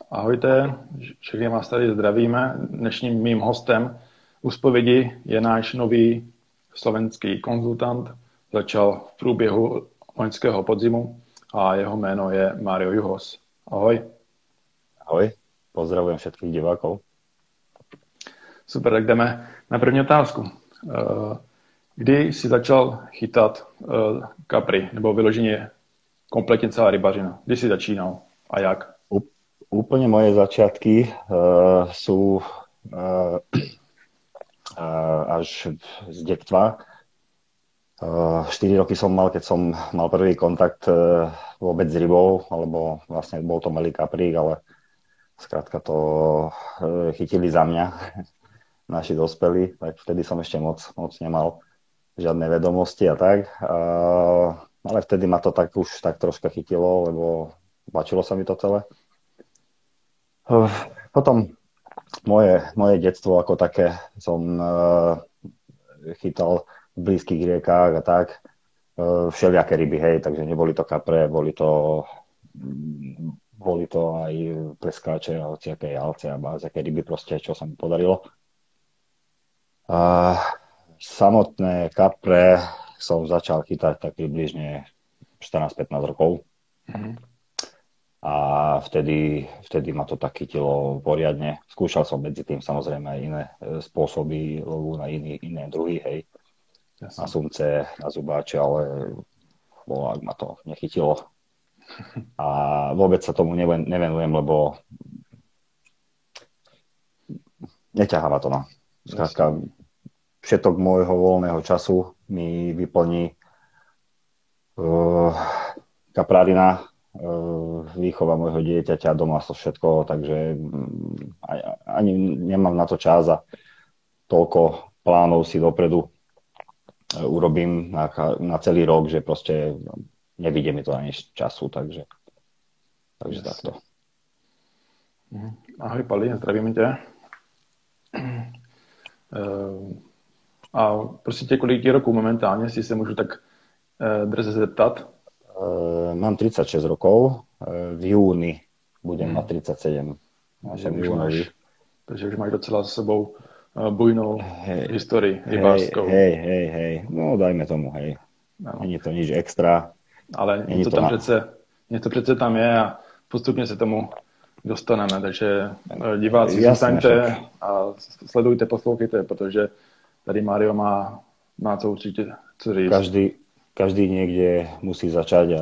Ahojte, všechny vás tady zdravíme. Dnešním mým hostem u zpovědi je náš nový slovenský konzultant. Začal v průběhu loňského podzimu a jeho jméno je Mário Juhos. Ahoj. Ahoj, pozdravujem všetkých divákov. Super, tak jdeme na první otázku. Kdy jsi začal chytat kapry, nebo vyloženě kompletně celá rybařina? Kdy jsi začínal a jak? Úplne moje začiatky sú až z detstva. 4 roky som mal, keď som mal prvý kontakt vôbec s rybou, alebo vlastne bol to malý kaprík, ale skrátka to chytili za mňa naši dospelí, tak vtedy som ešte moc nemal žiadne vedomosti a tak. Ale vtedy ma to tak už tak troška chytilo, lebo páčilo sa mi to celé. Potom moje detstvo ako také som chytal v blízkych riekách a tak. Všelijaké ryby, hej, takže neboli to kapre, boli to aj pleskáče, hociaké jalce a bázaké ryby proste, čo sa mi podarilo. Samotné kapre som začal chytať tak približne 14-15 rokov. Mm-hmm. A vtedy ma to tak chytilo poriadne. Skúšal som medzi tým samozrejme aj iné spôsoby lovu na iné druhy, hej. Jasne. Na sumce, na zubáče, ale ak ma to nechytilo. A vôbec sa tomu nevenujem, lebo neťahá ma to. No. Skrátka, všetok môjho voľného času mi vyplní kaprárina, výchova môjho dieťaťa, doma so všetko, takže ani nemám na to čas a toľko plánov si dopredu urobím na celý rok, že proste nevidie mi to ani času, takže takto. Ahoj Pali, zdravím tě. A prosím tě, kolik je roků momentálně, jestli se můžu tak drze zeptat? Mám 36 rokov, v júni budem mať 37. Takže už máš docela za sebou bujnou historii rybářskou. Hej, no dajme tomu, hej. No. Není to nič extra. Ale něco přece tam je a postupně se tomu dostaneme, takže diváci zůstaňte a sledujte, poslouchejte, protože tady Mário má co určitě co říct. Každý niekde musí začať a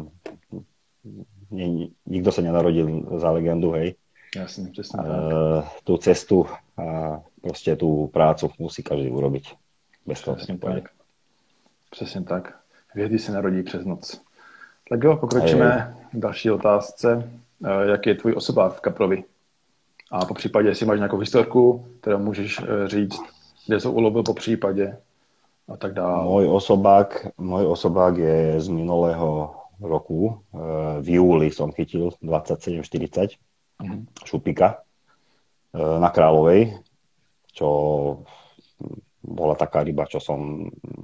nikto sa nenarodil za legendu, hej. Jasne, presne tak. Tú cestu a proste tú prácu musí každý urobiť. Bez toho presne tak. Přesně tak. Hvězdy se narodí přes noc. Tak jo, pokročíme k další otázce. Jak je tvůj osobák v kaprovi? A po případě, jestli máš nějakou historku, kterou můžeš říct, kde jsou ulovil po případě a tak dále. Môj osobák je z minulého roku. V júli som chytil 27-40 šupika na Kráľovej, čo bola taká ryba, čo som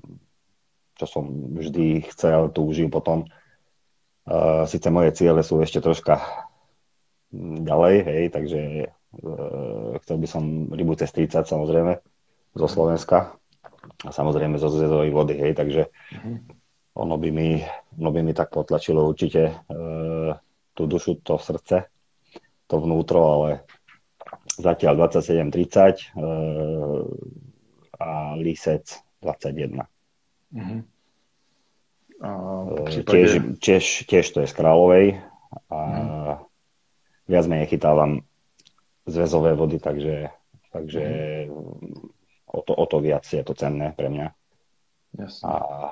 vždy chcel, túžil potom. Sice moje ciele sú ešte troška ďalej, hej, takže chcel by som rybu cez 30 samozrejme zo Slovenska. A samozrejme zo zväzovej vody, hej, takže ono by mi tak potlačilo určite tú dušu, to srdce, to vnútro, ale zatiaľ 27-30 a lísec 21. Tiež to je z Kráľovej a viac menej chytávam zväzové vody, takže o to viac je to cenné pre mňa. Jasne.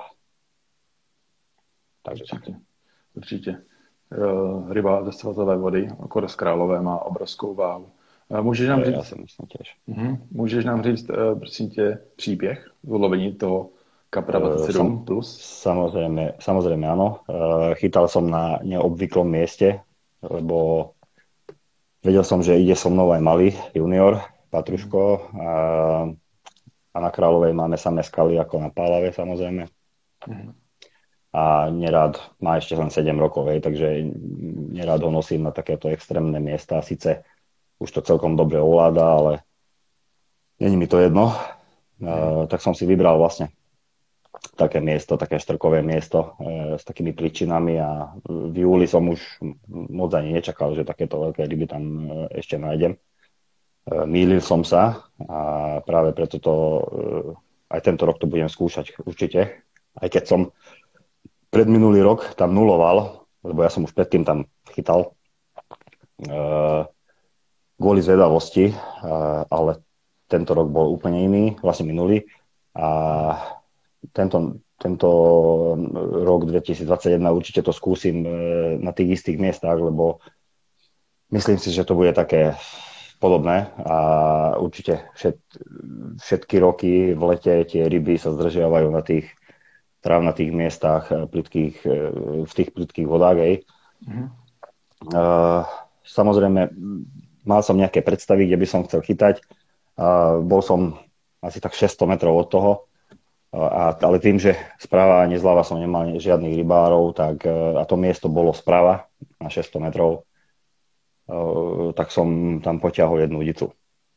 Takže Určitě. Ryba ze svazové vody, okolo z Králové, má obrovskou váhu. Můžeš nám říct, ja si myslím tiež. Můžeš nám říct, prosím tě, příběh z ulovení toho kapra 27 plus? Samozrejme áno. Chytal som na neobvyklom mieste, lebo vedel som, že ide so mnou aj malý junior, Patruško, a na Kráľovej máme samé skaly ako na Pálave, samozrejme. A a nerád, má ešte len 7 rokov, hej, takže nerád ho nosím na takéto extrémne miesta. Sice už to celkom dobre ovláda, ale není mi to jedno. Tak som si vybral vlastne také miesto, také štrkové miesto s takými pličinami a v júli som už moc ani nečakal, že takéto veľké ryby tam ešte nájdem. Mýlil som sa a práve preto to aj tento rok to budem skúšať určite, aj keď som predminulý rok tam nuloval, lebo ja som už predtým tam chytal kvôli zvedavosti, ale tento rok bol úplne iný, vlastne minulý. A tento rok 2021 určite to skúsim na tých istých miestach, lebo myslím si, že to bude také podobné a určite všetky roky v lete tie ryby sa zdržiavajú na tých trávnatých miestach, v tých plytkých vodách. Samozrejme, mal som nejaké predstavy, kde by som chcel chytať. Bol som asi tak 600 metrov od toho, ale tým, že sprava ani zľava som nemal žiadnych rybárov, a to miesto bolo sprava na 600 metrov, tak som tam potiahol jednu udicu.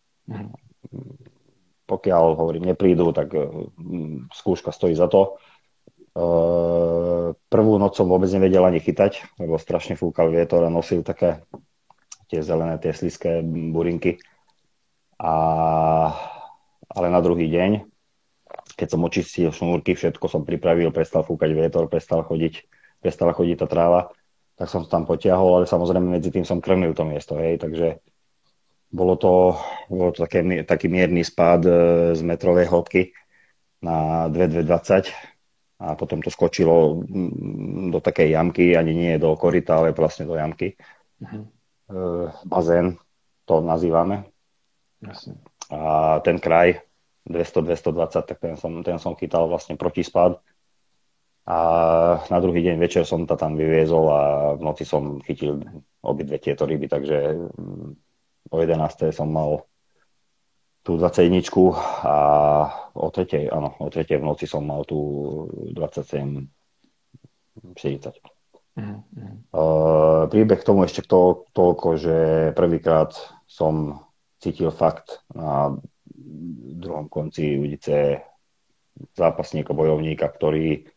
Pokiaľ, hovorím, neprídu, tak skúška stojí za to. Prvú noc som vôbec nevedel ani chytať, lebo strašne fúkal vietor a nosil také tie zelené, tie slizké burinky. Ale na druhý deň, keď som očistil šnúrky, všetko som pripravil, prestal fúkať vietor, prestala chodiť tá tráva, tak som tam potiahol, ale samozrejme medzi tým som krmil to miesto, hej, takže bolo to taký mierny spád z metrovej hĺbky na 2,20 a potom to skočilo do takej jamky, ani nie do koryta, ale vlastne do jamky. Bazén to nazývame. Jasne. A ten kraj 200-220, tak ten som chytal vlastne protispád. A na druhý deň večer som to tam vyviezol a v noci som chytil obidve tieto ryby, takže o 11. som mal tú 21 a o 3. V noci som mal tú 27-40. Príbeh k tomu ešte toľko, že prvýkrát som cítil fakt na druhom konci udice zápasníka, bojovníka, ktorý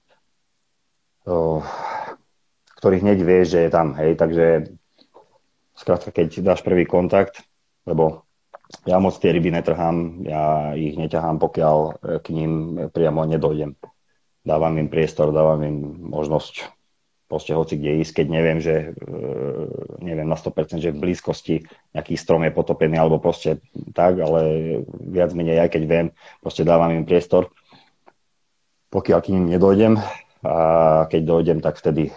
hneď vie, že je tam, hej, takže skrátka, keď dáš prvý kontakt, lebo ja moc tie ryby netrhám, ja ich neťahám, pokiaľ k ním priamo nedojdem. Dávam im priestor, dávam im možnosť proste hoci kde ísť, keď neviem na 100%, že v blízkosti nejaký strom je potopený, alebo proste tak, ale viac menej aj keď viem, proste dávam im priestor. Pokiaľ k ním nedojdem, a keď dojdem, tak vtedy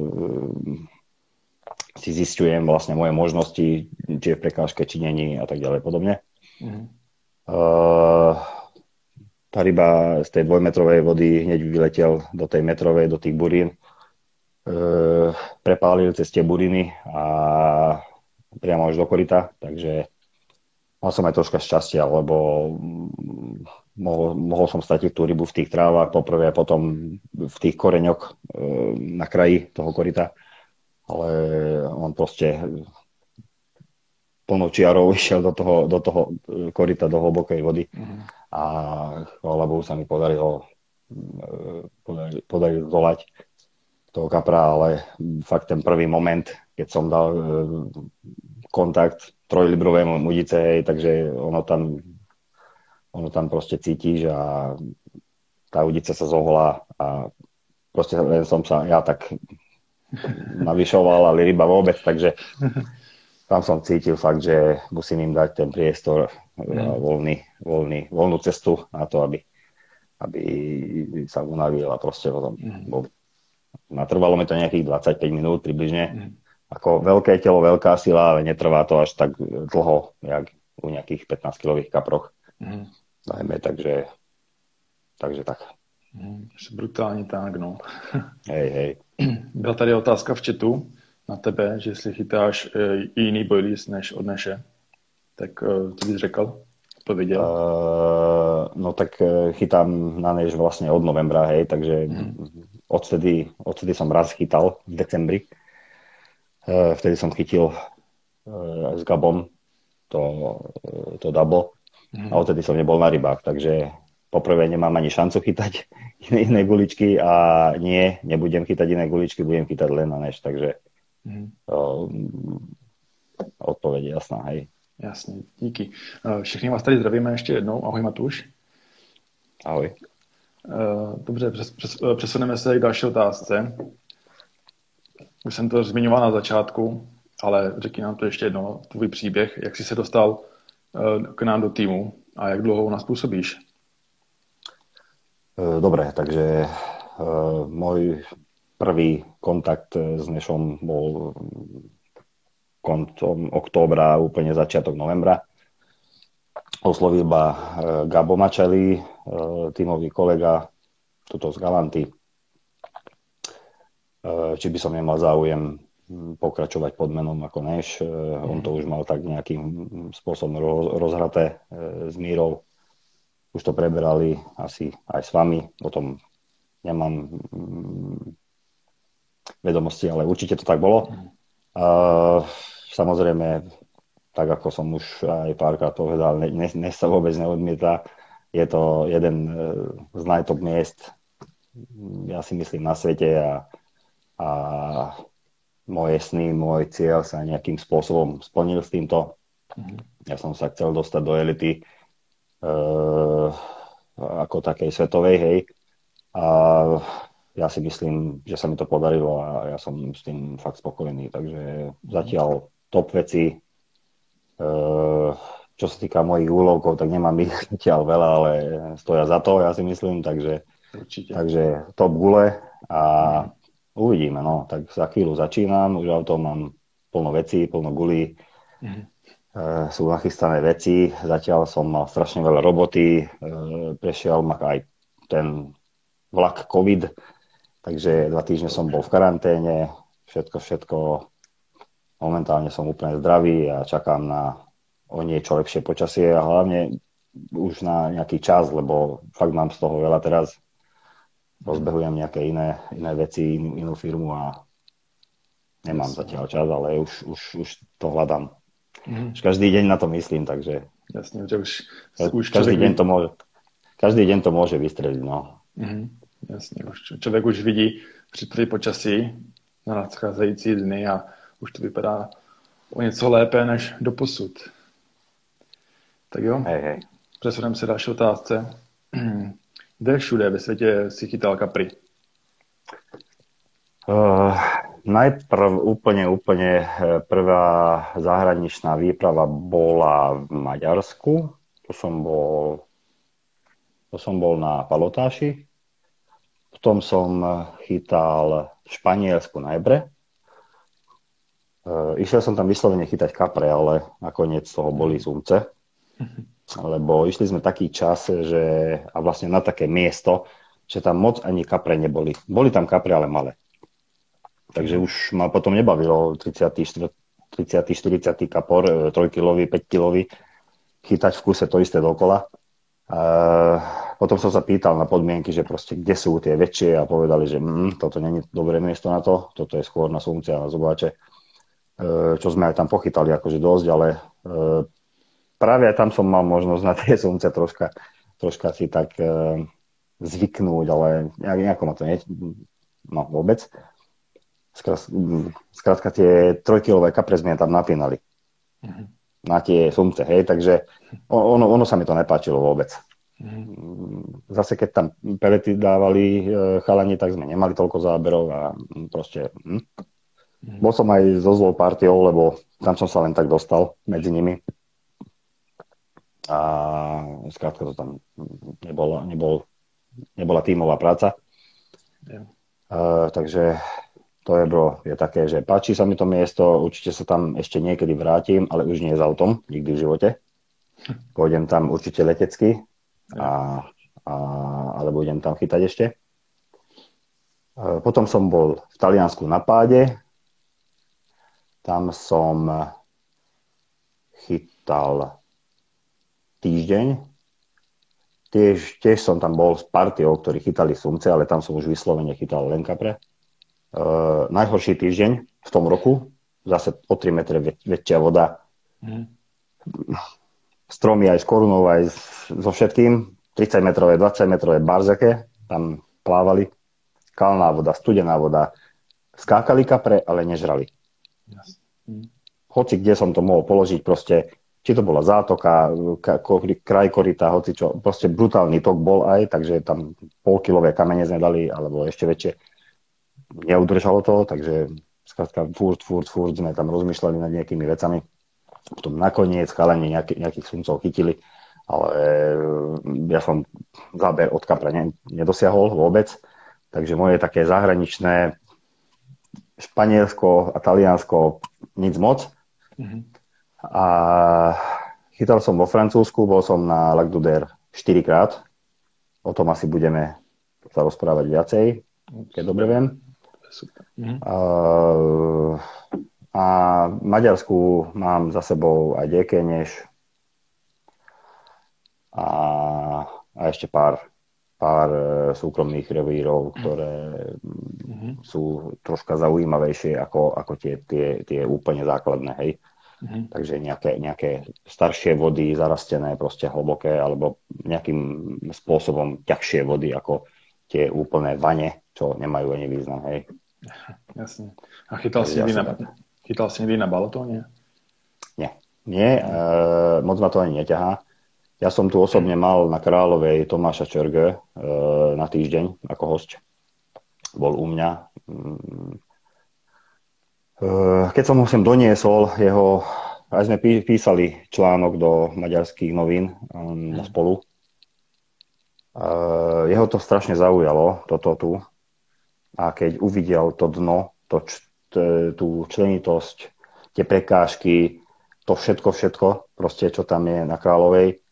si zisťujem vlastne moje možnosti, či je v prekážke, či není a tak ďalej podobne. Tá ryba z tej 2-metrovej vody hneď vyletel do tej metrovej, do tých burín. Prepálil cez tie buriny a priamo až do koryta, takže mal som aj troška šťastia, lebo mohol som stratiť tú rybu v tých trávach poprvé a potom v tých koreňoch na kraji toho koryta, ale on proste plnou čiarou išiel do toho koryta, do hlbokej vody a chvála Bohu sa mi podarilo zdolať toho kapra, ale fakt ten prvý moment, keď som dal kontakt 3-librovému mudice, hej, takže ono tam proste cítiš a tá udica sa zoholá a proste len som sa ja tak navyšoval, ale ryba vôbec, takže tam som cítil fakt, že musím im dať ten priestor a voľnú cestu na to, aby sa unavil a proste potom natrvalo mi to nejakých 25 minút približne. Ako veľké telo, veľká sila, ale netrvá to až tak dlho, jak u nejakých 15-kilových kaproch. Najmä, takže tak. Brutální tánk, no. Hej. Byla tady otázka v chatu na tebe, že jestli chytáš jiný boilies než od Neše, tak ty bys řekl to viděl? No tak chytám na než vlastne od novembra, hej, takže odtedy som raz chytal v decembri. Vtedy som chytil s Gabom to double a odtedy som nebol na rybách, takže poprvé nemám ani šancu chytať iné guličky a nebudem chytať iné guličky, budem chytať len na než, takže odpověď je jasná, hej. Jasně, díky. Všichni vás tady zdravíme ještě jednou. Ahoj Matuš. Ahoj. Dobře, přesuneme se k další otázce. Už jsem to zmiňoval na začátku, ale řekni nám to ještě jednou, tvůj příběh, jak jsi se dostal k nám do týmu a jak dlouho u nás působíš? Dobre, takže môj prvý kontakt s Nešom bol koncom októbra, úplne začiatok novembra. Oslovil ma Gabo Mačeli, tímový kolega, tuto z Galanty, či by som nemal záujem pokračovať pod menom ako Neš. On to už mal tak nejakým spôsobom rozhraté s Mírou. Už to preberali asi aj s vami, o tom nemám vedomosti, ale určite to tak bolo. Samozrejme, tak ako som už aj párkrát povedal, dnes sa vôbec neodmieta. Je to jeden z najtop miest, ja si myslím, na svete a moje sny, môj cieľ sa nejakým spôsobom splnil s týmto. Ja som sa chcel dostať do elity ako takej svetovej, hej. A ja si myslím, že sa mi to podarilo a ja som s tým fakt spokojný. Takže zatiaľ top veci. Čo sa týka mojich úlovkov, tak nemám ich zatiaľ veľa, ale stoja za to, ja si myslím. Takže top gule a uvidíme. No. Tak za chvíľu začínam, už auto mám plno vecí, plno gulí. Sú nachystané veci. Zatiaľ som mal strašne veľa roboty. Prešiel ma aj ten vlak COVID, takže 2 týždne som bol v karanténe. Všetko. Momentálne som úplne zdravý a čakám na o niečo lepšie počasie a hlavne už na nejaký čas, lebo fakt mám z toho veľa teraz. Rozbehujem nejaké iné veci, inú firmu a nemám zatiaľ čas, ale už to hľadám. Každý deň na to myslím, takže jasne, že už každý deň to môže vystreliť, no. Jasně, člověk už vidí při počasí na nadcházející dny a už to vypadá o něco lépe než doposud. Tak jo, přesuneme se další otázce. Kde všude ve světě si chytal kapry? Najprv úplne prvá zahraničná výprava bola v Maďarsku. To som bol na Palotáši. Potom som chytal v Španielsku na Ebre. Išiel som tam vyslovene chytať kapre, ale nakoniec z toho boli sumce. Lebo išli sme taký čas, a vlastne na také miesto, že tam moc ani kapre neboli. Boli tam kapre, ale malé. Takže už ma potom nebavilo 30-40 kapor, 3-kilový, 5-kilový, chytať v kuse to isté dokola. Potom som sa pýtal na podmienky, že proste kde sú tie väčšie a povedali, že toto nie je dobré miesto na to, toto je skôr na sumce a na zobáče. Čo sme aj tam pochytali akože dosť, ale práve aj tam som mal možnosť na tie sumce troška si tak zvyknúť, ale nejako ma to vôbec. Skrátka tie 3-kilové kapre sme tam napínali na tie sumce, hej, takže ono sa mi to nepáčilo vôbec. Zase keď tam pelety dávali chalani, tak sme nemali toľko záberov a proste bol som aj so zlou partiou, lebo tam som sa len tak dostal medzi nimi a skrátka to tam nebola tímová práca. Takže to je také, že páči sa mi to miesto, určite sa tam ešte niekedy vrátim, ale už nie s autom, nikdy v živote. Pôjdem tam určite letecky, ale budem tam chytať ešte. Potom som bol v Taliansku na Páde. Tam som chytal týždeň. Tiež som tam bol s partiou, ktorí chytali sumce, ale tam som už vyslovene chytal len kapre. Najhorší týždeň v tom roku, zase o 3 metre väčšia voda. Stromy aj s korunou, aj so všetkým. 30-metrové, 20-metrové barzake, tam plávali. Kalná voda, studená voda. Skákali kapre, ale nežrali. Hoci kde som to mohol položiť, proste či to bola zátoka, kraj koryta, hoci čo, proste brutálny tok bol aj, takže tam polkilové kamene sme dali, alebo ešte väčšie. Neudržalo to, takže skrátka furt sme tam rozmýšľali nad nejakými vecami. Potom nakoniec chalani nejakých sumcov chytili, ale ja som záber od kapra nedosiahol vôbec, takže moje také zahraničné Španielsko a Taliansko nic moc. A chytal som vo Francúzsku, bol som na Lac d'Uder 4-krát. O tom asi budeme sa rozprávať viacej, keď dobre viem. A v Maďarsku mám za sebou aj Dekeneš a ešte pár súkromných revírov, ktoré sú troška zaujímavejšie ako tie úplne základné, hej. Takže nejaké staršie vody zarastené, proste hlboké, alebo nejakým spôsobom ťažšie vody ako tie úplné vane, čo nemajú ani význam, hej. Jasne. A chytal si niekdy na balotóne? Nie, moc ma to ani neťahá. Ja som tu osobne mal na Kráľovej Tomáša Čörge na týždeň ako hosť. Bol u mňa. Keď som ho sem doniesol, aj sme písali článok do maďarských novín spolu. Jeho to strašne zaujalo, toto tu. A keď uvidel to dno, tú členitosť, tie prekážky, to všetko, proste čo tam je na Kráľovej,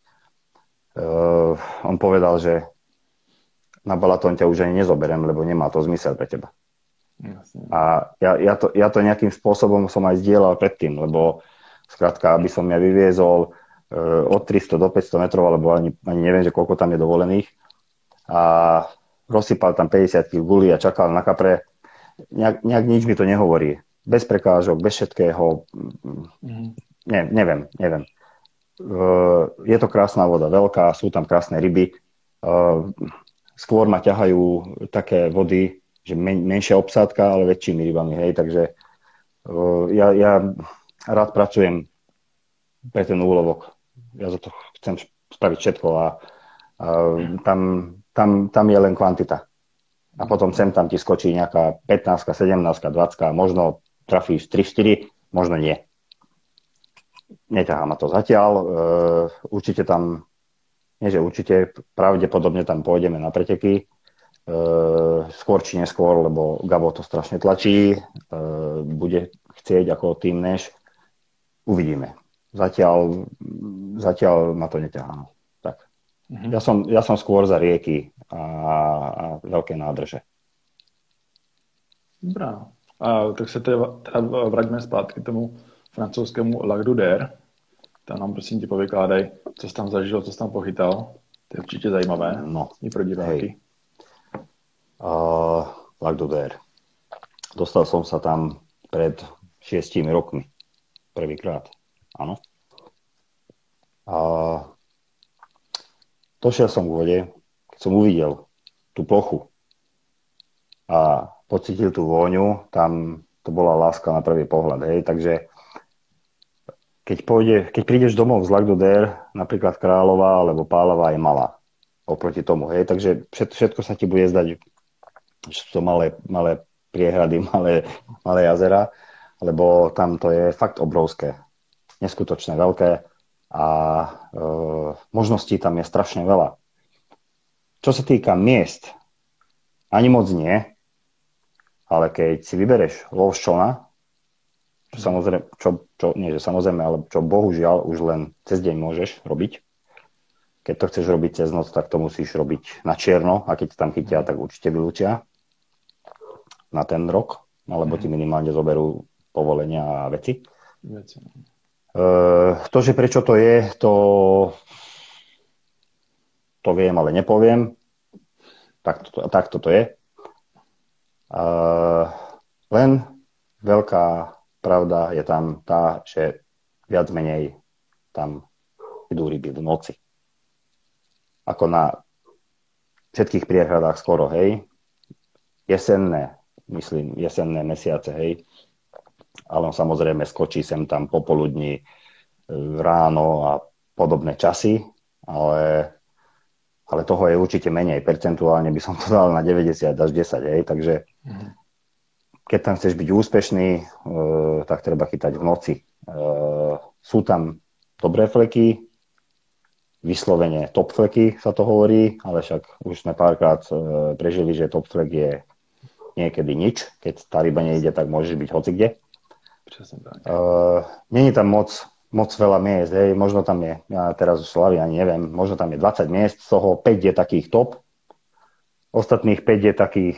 on povedal, že na Balatón ťa už ani nezoberiem, lebo nemá to zmysel pre teba. Jasne. A ja to nejakým spôsobom som aj zdieľal predtým, lebo skrátka, aby som ja vyviezol od 300 do 500 metrov, alebo ani neviem, že koľko tam je dovolených, a rozsypal tam 50 kg guli a čakal na kapre, nejak nič mi to nehovorí. Bez prekážok, bez všetkého. Neviem. Je to krásna voda, veľká, sú tam krásne ryby. Skôr ma ťahajú také vody, že menšia obsádka, ale väčšími rybami, hej, takže ja rád pracujem pre ten úlovok. Ja za to chcem spraviť všetko a tam je len kvantita. A potom sem tam ti skočí nejaká 15, 17, 20, možno trafíš 3-4, možno nie. Neťahá ma to zatiaľ. Určite tam, nie že určite, pravdepodobne tam pôjdeme na preteky. Skôr či neskôr, lebo Gabo to strašne tlačí. Bude chcieť ako tým Nash. Uvidíme. Zatiaľ ma to neťahá. Tak. Ja som skôr za rieky a veľké nádrže. Dobrá. Tak se teda vraťme zpátky k tomu francouzskému Lac d'Uder. Tam nám prosím tě povykládej, co jsi tam zažil, co jsi tam pochytal. To je určitě zajímavé. No. I pro diváky. Lac d'Uder. Dostal som sa tam pred 6 rokmi. Prvýkrát. Áno. Došiel som k vode, keď som uvidel tú plochu a pocítil tú vôňu, tam to bola láska na prvý pohľad. Hej. Takže keď prídeš domov z Lac d'Uder, napríklad Kráľová alebo Pálava je malá oproti tomu. Hej. Takže všetko sa ti bude zdať, že sú to malé priehrady, malé jazera, lebo tam to je fakt obrovské, neskutočné, veľké a možností tam je strašne veľa. Čo sa týka miest, ani moc nie, ale keď si vybereš lov z člna, čo bohužiaľ už len cez deň môžeš robiť. Keď to chceš robiť cez noc, tak to musíš robiť na čierno a keď tam chytia, tak určite vylúčia na ten rok, alebo ti minimálne zoberú povolenia a veci. To, že prečo to je, to to viem, ale nepoviem. Tak toto je. Len veľká pravda je tam tá, že viac menej tam idú ryby v noci. Ako na všetkých priehradách skoro, hej. Jesenné mesiace, hej. Ale on samozrejme skočí sem tam popoludní, ráno a podobné časy, ale toho je určite menej. Percentuálne by som to dal na 90 až 10, hej. Takže keď tam chceš byť úspešný, tak treba chytať v noci. Sú tam dobré fleky, vyslovene top fleky sa to hovorí, ale však už sme párkrát prežili, že top flek je niekedy nič. Keď tá ryba nejde, tak môžeš byť hocikde. Není tam moc veľa miest, hej. Možno tam je, ja teraz už slavy ani neviem, možno tam je 20 miest, z toho 5 je takých top, ostatných 5 je takých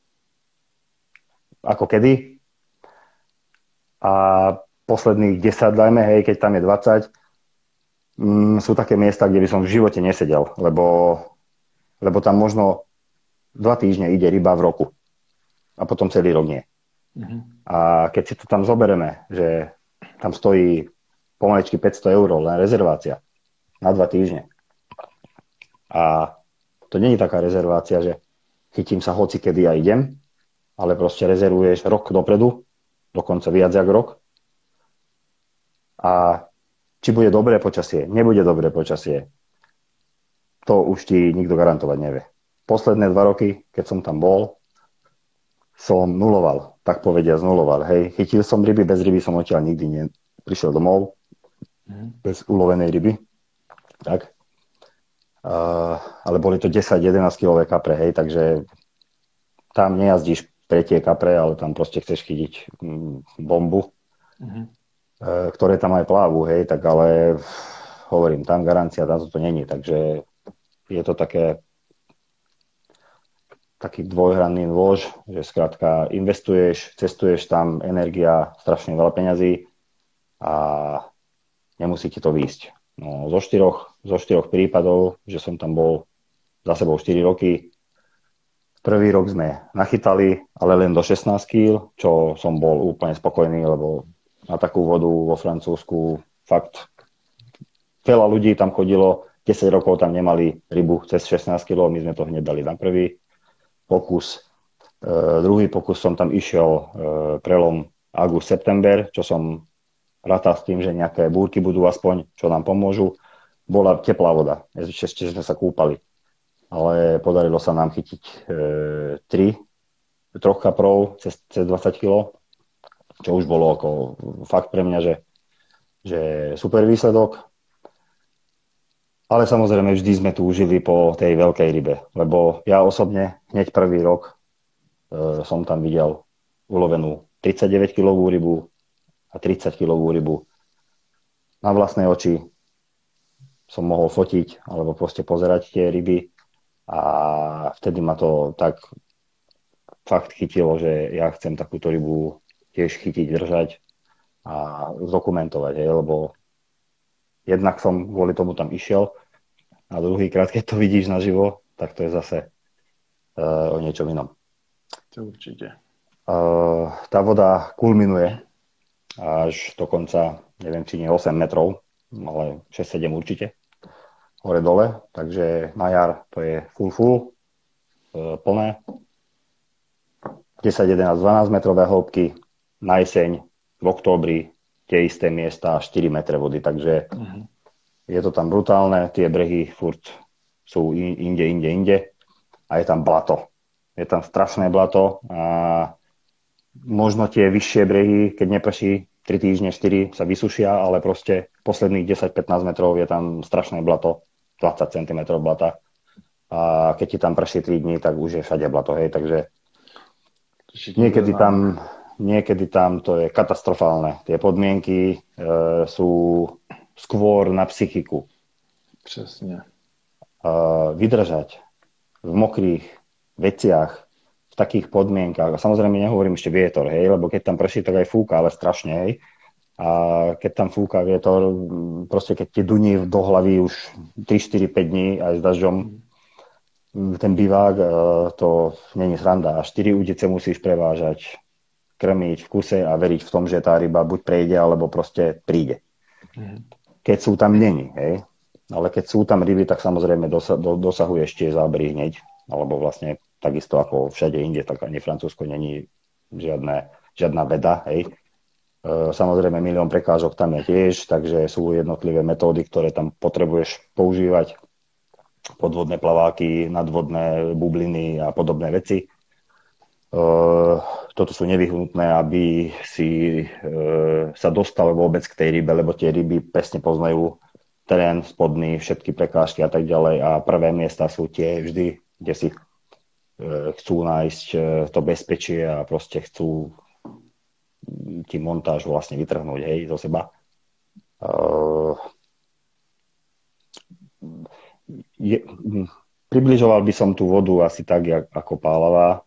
ako kedy a posledných 10, dajme, hej, keď tam je 20, sú také miesta, kde by som v živote nesedel, lebo tam možno 2 týždne ide ryba v roku a potom celý rok nie. A keď si to tam zobereme, že tam stojí pomaličky 500 € len rezervácia na 2 týždne. A to nie je taká rezervácia, že chytím sa hoci kedy a idem, ale proste rezervuješ rok dopredu, dokonca viac jak rok. A či bude dobré počasie, nebude dobré počasie, to už ti nikto garantovať nevie. Posledné 2 roky, keď som tam bol, som nuloval, tak povediať nuloval. Hej, chytil som ryby, bez ryby som odtiaľ nikdy prišiel domov, bez ulovenej ryby. Tak. Ale boli to 10-11 kilové kapre, hej, takže tam nejazdíš pre tie kapre, ale tam proste chceš chytiť bombu, ktoré tam aj plávu, hej, tak ale hovorím, tam garancia, tam to není, takže je to taký dvojhranný nôž, že skrátka investuješ, cestuješ tam, energia, strašne veľa peňazí a nemusí ti to výjsť. No, zo štyroch prípadov, že som tam bol za sebou 4 roky, prvý rok sme nachytali, ale len do 16 kg, čo som bol úplne spokojný, lebo na takú vodu vo Francúzsku fakt veľa ľudí tam chodilo, 10 rokov tam nemali rybu cez 16 kg, my sme to hneď dali na prvý pokus. Druhý pokus som tam išiel prelom august-september, čo som rátal s tým, že nejaké búrky budú aspoň, čo nám pomôžu. Bola teplá voda, ešte sme sa kúpali. Ale podarilo sa nám chytiť 3 kaprov cez 20 kg, čo už bolo ako fakt pre mňa, že super výsledok. Ale samozrejme vždy sme túžili po tej veľkej rybe, lebo ja osobne hneď prvý rok som tam videl ulovenú 39-kilovú rybu a 30-kilovú rybu. Na vlastné oči som mohol fotiť alebo proste pozerať tie ryby a vtedy ma to tak fakt chytilo, že ja chcem takúto rybu tiež chytiť, držať a zdokumentovať, lebo jednak som kvôli tomu tam išiel a druhýkrát, keď to vidíš naživo, tak to je zase o niečom inom. To určite. Tá voda kulminuje až do konca, neviem, či nie 8 metrov, ale 6-7 určite, hore-dole, takže na jar to je full, plné, 10, 11, 12 metrové hĺbky, na jeseň v októbri tie isté miesta 4 metre vody, takže je to tam brutálne, tie brehy furt sú inde a je tam blato. Je tam strašné blato a možno tie vyššie brehy, keď neprší 3 týždne, 4 sa vysušia, ale proste posledných 10-15 metrov je tam strašné blato, 20 cm blata a keď ti tam prší 3 dní, tak už je všade blato, hej, takže niekedy tam to je katastrofálne. Tie podmienky sú skôr na psychiku. Přesně. Vydržať v mokrých veciach, v takých podmienkach. A samozrejme nehovorím ešte vietor, hej, lebo keď tam prší, tak aj fúka, ale strašne, hej. a keď tam fúka vietor, proste keď ti duní do hlavy už 3, 4, 5 dní aj s dažďom, ten bivák, to není sranda. A 4 udice musíš prevážať, krmiť v kuse a veriť v tom, že tá ryba buď prejde, alebo proste príde. Keď sú tam není, hej. Ale keď sú tam ryby, tak samozrejme dosahuješ tie zábery hneď, alebo vlastne takisto ako všade inde, tak ani Francúzsko není žiadna veda, hej. Samozrejme, milión prekážok tam je tiež, takže sú jednotlivé metódy, ktoré tam potrebuješ používať. Podvodné plaváky, nadvodné bubliny a podobné veci. Toto sú nevyhnutné, aby si sa dostal vôbec k tej rybe, lebo tie ryby presne poznajú terén spodný, všetky prekážky a tak ďalej. A prvé miesta sú tie vždy, kde si chcú nájsť to bezpečie a proste chcú ti montáž vlastne vytrhnúť, hej, zo seba. Približoval by som tú vodu asi tak, ako Pálava.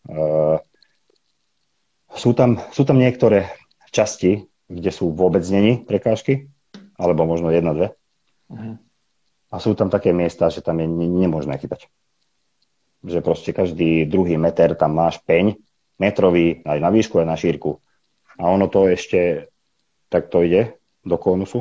Sú tam niektoré časti, kde sú vôbec není prekážky, alebo možno 1-2. A sú tam také miesta, že tam je nemožné chytať. Že proste každý druhý meter tam máš peň, metrový, aj na výšku, aj na šírku. A ono to ešte takto ide do konusu.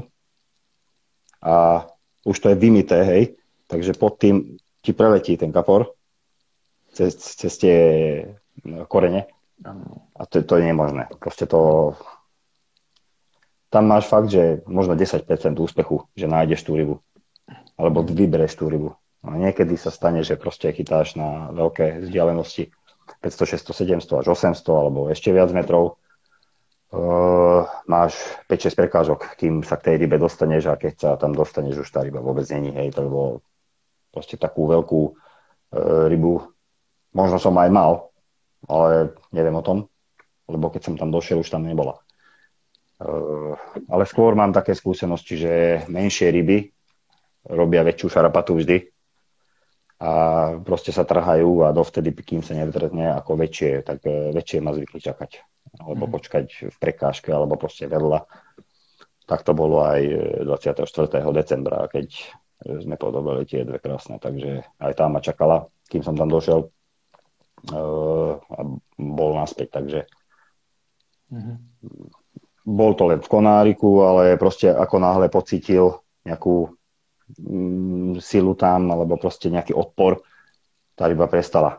A už to je vymité, hej. Takže pod tým ti preletí ten kapor cez tie korene. A to je nemožné. Proste to... Tam máš fakt, že možno 10% úspechu, že nájdeš tú rybu. Alebo vybereš tú rybu. A niekedy sa stane, že proste chytáš na veľké vzdialenosti 500, 600, 700 až 800 alebo ešte viac metrov. Máš 5-6 prekážok, kým sa k tej rybe dostaneš a keď sa tam dostaneš, už tá ryba vôbec není, hej, to bolo proste takú veľkú rybu. Možno som aj mal, ale neviem o tom, lebo keď som tam došiel, už tam nebola. Ale skôr mám také skúsenosti, že menšie ryby robia väčšiu šarapatu vždy a proste sa trhajú a dovtedy, kým sa nevytrhne ako väčšie, tak väčšie ma zvykli čakať. Alebo počkať v prekážke, alebo proste vedľa. Tak to bolo aj 24. decembra, keď sme podobali tie dve krásne, takže aj tá ma čakala, kým som tam došiel a bol naspäť, takže bol to len v konáriku, ale proste ako náhle pocítil nejakú silu tam, alebo proste nejaký odpor, tá ryba prestala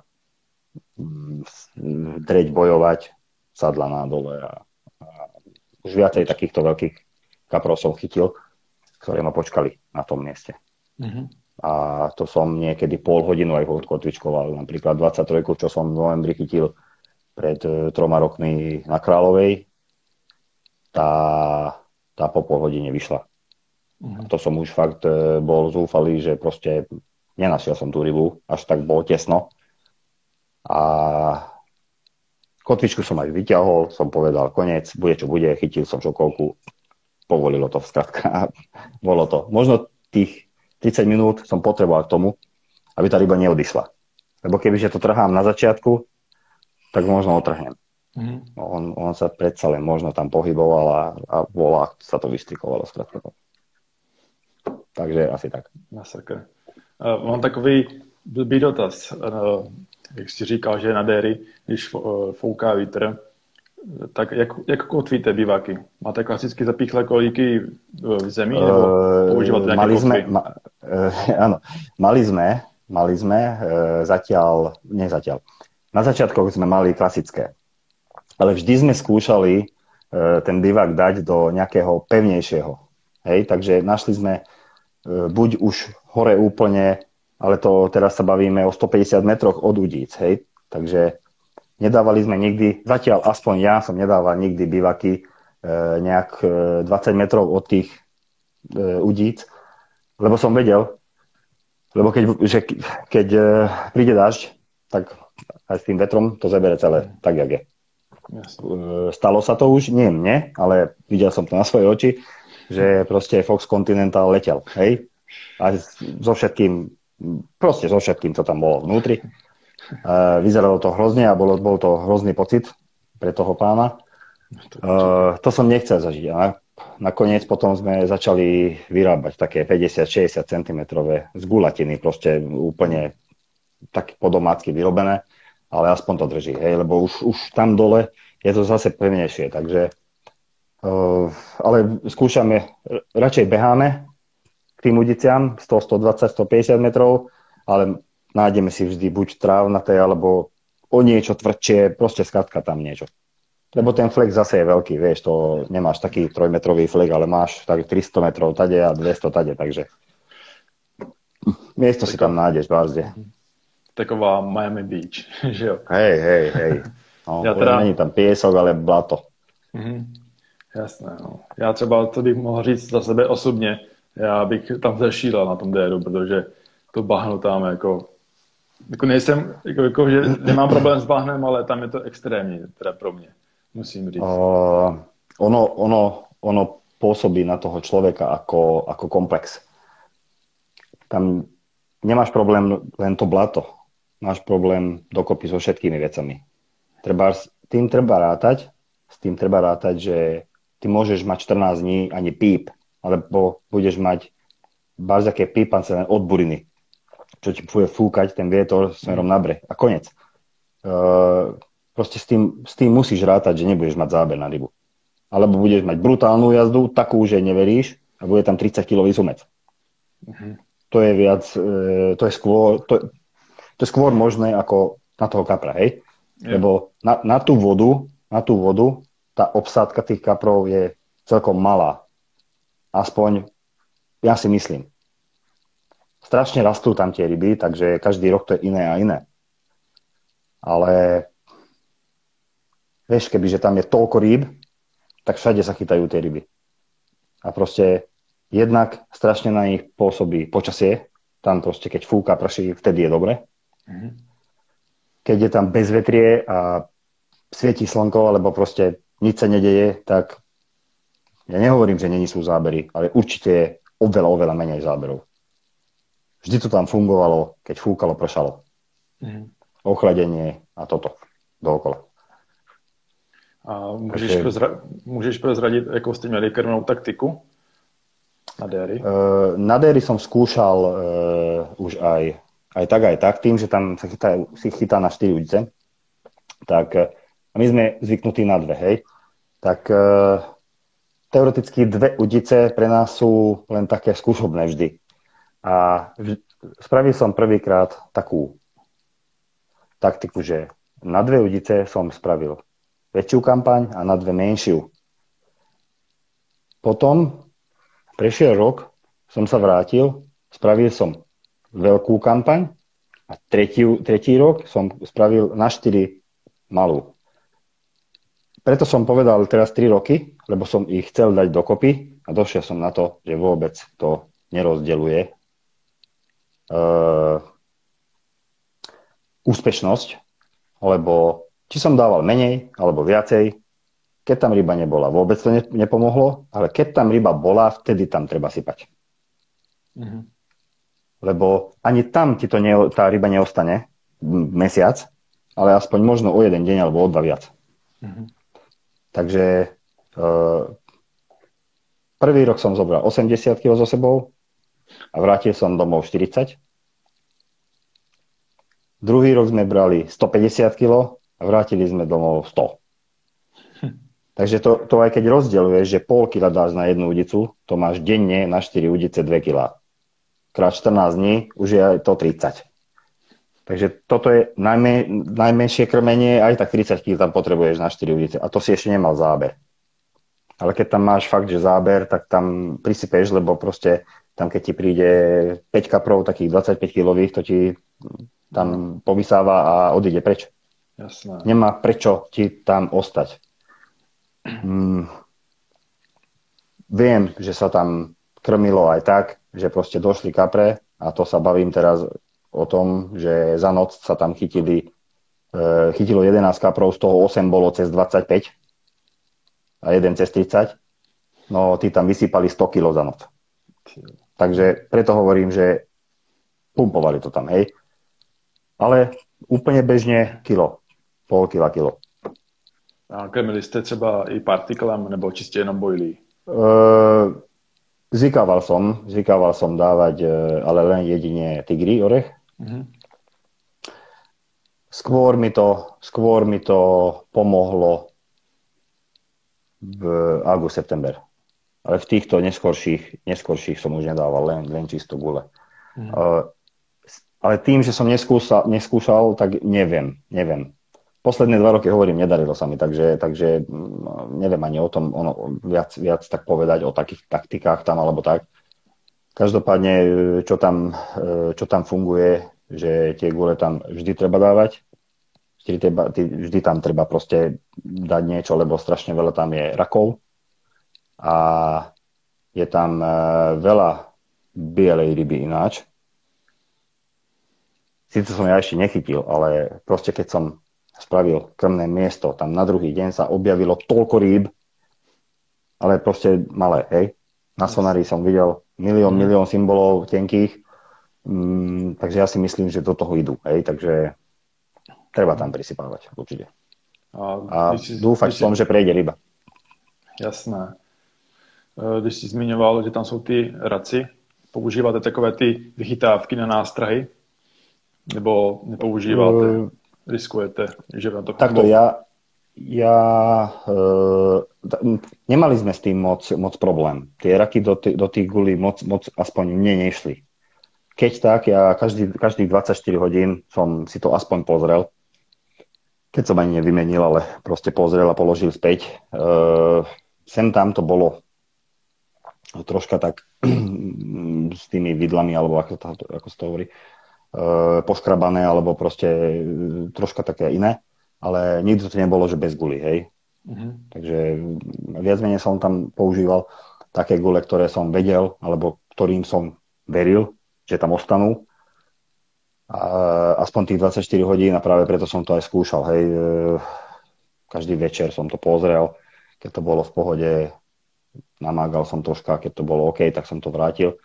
dreť, bojovať, sadla na dole a už viacej takýchto veľkých kaprov som chytil, ktoré ma počkali na tom mieste. A to som niekedy pol hodinu aj odkotvičkoval. Napríklad 23, čo som v novembri chytil pred 3 rokmi na Kráľovej, tá po pol hodine vyšla. A to som už fakt bol zúfalý, že proste nenašiel som tú rybu, až tak bolo tesno. A kotvičku som aj vyťahol, som povedal koniec, bude čo bude, chytil som šokovku, povolilo to skrátka. Bolo to. Možno tých 30 minút som potreboval k tomu, aby tá ryba neodišla. Lebo kebyže to trhám na začiatku, tak možno otrhnem. On sa predsa len možno tam pohyboval a volá, sa to vystrikovalo skrátka. Takže asi tak. Masakr. Mám takový blbý dotaz. Jak jsi říkal, že na déry, když fouká vítr, tak jak kotvíte biváky? Máte klasicky zapíchlé kolíky v zemi, nebo používáte nejaké kotvy? Áno, mali sme zatiaľ. Na začiatkoch sme mali klasické, ale vždy sme skúšali ten bivák dať do nejakého pevnejšieho. Hej, takže našli sme buď už hore úplne, ale to teraz sa bavíme o 150 metroch od udíc, hej. Takže nedávali sme nikdy, zatiaľ aspoň ja som nedával nikdy bivaky nejak 20 metrov od tých udíc, lebo som vedel, lebo keď príde dážď, tak aj s tým vetrom to zabere celé, tak jak je. Yes. Stalo sa to už, nie mne, ale videl som to na svoje oči, že proste Fox Continental letel, hej. A so všetkým, čo tam bolo vnútri. Vyzeralo to hrozne a bol to hrozný pocit pre toho pána. To som nechcel zažiť. A nakoniec potom sme začali vyrábať také 50-60 cm z gulatiny, proste úplne tak po domácky vyrobené, ale aspoň to drží, hej, lebo už tam dole je to zase pevnejšie, takže ale skúšame, radšej beháme k tým udiciam 100, 120, 150 metrov, ale nájdeme si vždy buď trávnaté, alebo o niečo tvrdšie, proste skrátka tam niečo. Lebo ten flek zase je veľký, vieš, to nemáš taký 3-metrový flek, ale máš tak 300 metrov tade a 200 tade, takže miesto si tam nájdeš, vážne. Taková Miami Beach, že jo? Hej. No, není tam piesok, ale blato. Jasné, no. Já třeba, to bych mohl říct za sebe osobně, já bych tam zešílel na tom déru, protože to bahno tam jako nejsem, jako, že nemám problém s bahnem, ale tam je to extrémní, teda pro mě, musím říct. Ono pôsobí na toho človeka ako komplex. Tam nemáš problém len to blato, máš problém dokopy so všetkými vecami. S tým treba rátať, že ty môžeš mať 14 dní ani píp, alebo budeš mať barzaké pípance len od buriny, čo ti bude fúkať ten vietor smerom na breh. A konec. Proste s tým musíš rátať, že nebudeš mať záber na rybu. Alebo budeš mať brutálnu jazdu, takú, že neveríš, a bude tam 30-kilový sumec. To je viac, to je skôr možné ako na toho kapra, hej? Lebo na tú vodu tá obsádka tých kaprov je celkom malá. Aspoň ja si myslím. Strašne rastú tam tie ryby, takže každý rok to je iné a iné. Ale vieš, kebyže tam je toľko rýb, tak všade sa chytajú tie ryby. A proste jednak strašne na nich pôsobí počasie. Tam proste, keď fúka, prší, vtedy je dobre. Keď je tam bezvetrie a svieti slnko, alebo proste nič sa nedeje, tak ja nehovorím, že není sú zábery, ale určite je oveľa menej záberov. Vždy to tam fungovalo, keď fúkalo, pršalo. Ochladenie a toto dookola. A můžeš prozradit, jakou jste měli krmnou taktiku na déry? Na déry som skúšal už aj tak, tým, že tam sa chytá na 4 udice. Tak a my sme zvyknutí na 2, hej. Tak teoreticky 2 udice pre nás sú len také skúšobné vždy. A spravil som prvýkrát takú taktiku, že na 2 udice som spravil väčšiu kampaň a na 2 menšiu. Potom prešiel rok, som sa vrátil, spravil som veľkú kampaň a tretí rok som spravil na 4 malú. Preto som povedal teraz 3 roky, lebo som ich chcel dať dokopy a došiel som na to, že vôbec to nerozdeľuje úspešnosť, lebo či som dával menej alebo viacej, keď tam ryba nebola, vôbec to nepomohlo, ale keď tam ryba bola, vtedy tam treba sypať. Lebo ani tam ti to tá ryba neostane mesiac, ale aspoň možno o 1 deň alebo o 2 viac. Takže prvý rok som zobral 80 kg so sebou a vrátil som domov 40. Druhý rok sme brali 150 kg a vrátili sme domov 100. Takže to aj keď rozdeľuješ, že pol kila dáš na jednu udicu, to máš denne na 4 udice 2 kg. Krát 14 dní už je to 30. Takže toto je najmenšie krmenie, aj tak 30 kg tam potrebuješ na 4 udice. A to si ešte nemal záber. Ale keď tam máš fakt, že záber, tak tam prisypeš, lebo proste tam keď ti príde 5 kaprov, takých 25 kilových, to ti tam povysáva a odíde preč. Jasné. Nemá prečo ti tam ostať. Viem, že sa tam krmilo aj tak, že proste došli kapre a to sa bavím teraz o tom, že za noc sa tam chytilo 11 kaprov, z toho 8 bolo cez 25 a 1 cez 30. No, tí tam vysypali 100 kg za noc. Takže preto hovorím, že pumpovali to tam, hej. Ale úplně běžně půl kila. A krmili jste třeba i partiklem nebo čistě jenom boilí? Zvykával som dávať, ale len jedine tigri orech. Mhm. Skôr mi to pomohlo v auguste-september. Ale v týchto neskorších som už nedával, len čisto gule. Ale tým, že som neskúšal, tak neviem. Posledné 2 roky, hovorím, nedarilo sa mi, takže neviem ani o tom viac tak povedať o takých taktikách tam alebo tak. Každopádne, čo tam funguje, že tie gule tam vždy treba dávať, vždy tam treba proste dať niečo, lebo strašne veľa tam je rakov a je tam veľa bielej ryby ináč. Sice som ja ešte nechytil, ale proste keď som spravil krmné miesto, tam na druhý deň sa objavilo toľko rýb, ale proste malé, hej. Na sonári som videl milión symbolov tenkých, takže ja si myslím, že do toho idú, hej, takže treba tam prisypávať, určite. A dúfať som, že prejde ryba. Jasné. Když jsi zmiňoval, že tam jsou ty raci, používáte takové ty vychytávky na nástrahy? Nebo nepoužíváte? Riskujete, že na to... Takto nemali sme s tým moc problém. Tie raky do tých gulí moc aspoň mne nešli. Keď tak, ja každých 24 hodín som si to aspoň pozrel. Keď som ani nevymenil, ale proste pozrel a položil späť. Sem tam to bolo troška tak s tými vidlami, alebo ako sa to hovorí, poškrabané, alebo proste troška také iné, ale nikdy to nebolo, že bez guly, hej. Takže viac menej som tam používal také gule, ktoré som vedel, alebo ktorým som veril, že tam ostanú. Aspoň tých 24 hodín a práve preto som to aj skúšal, hej. Každý večer som to pozrel, keď to bolo v pohode, namágal som troška, keď to bolo OK, tak som to vrátil.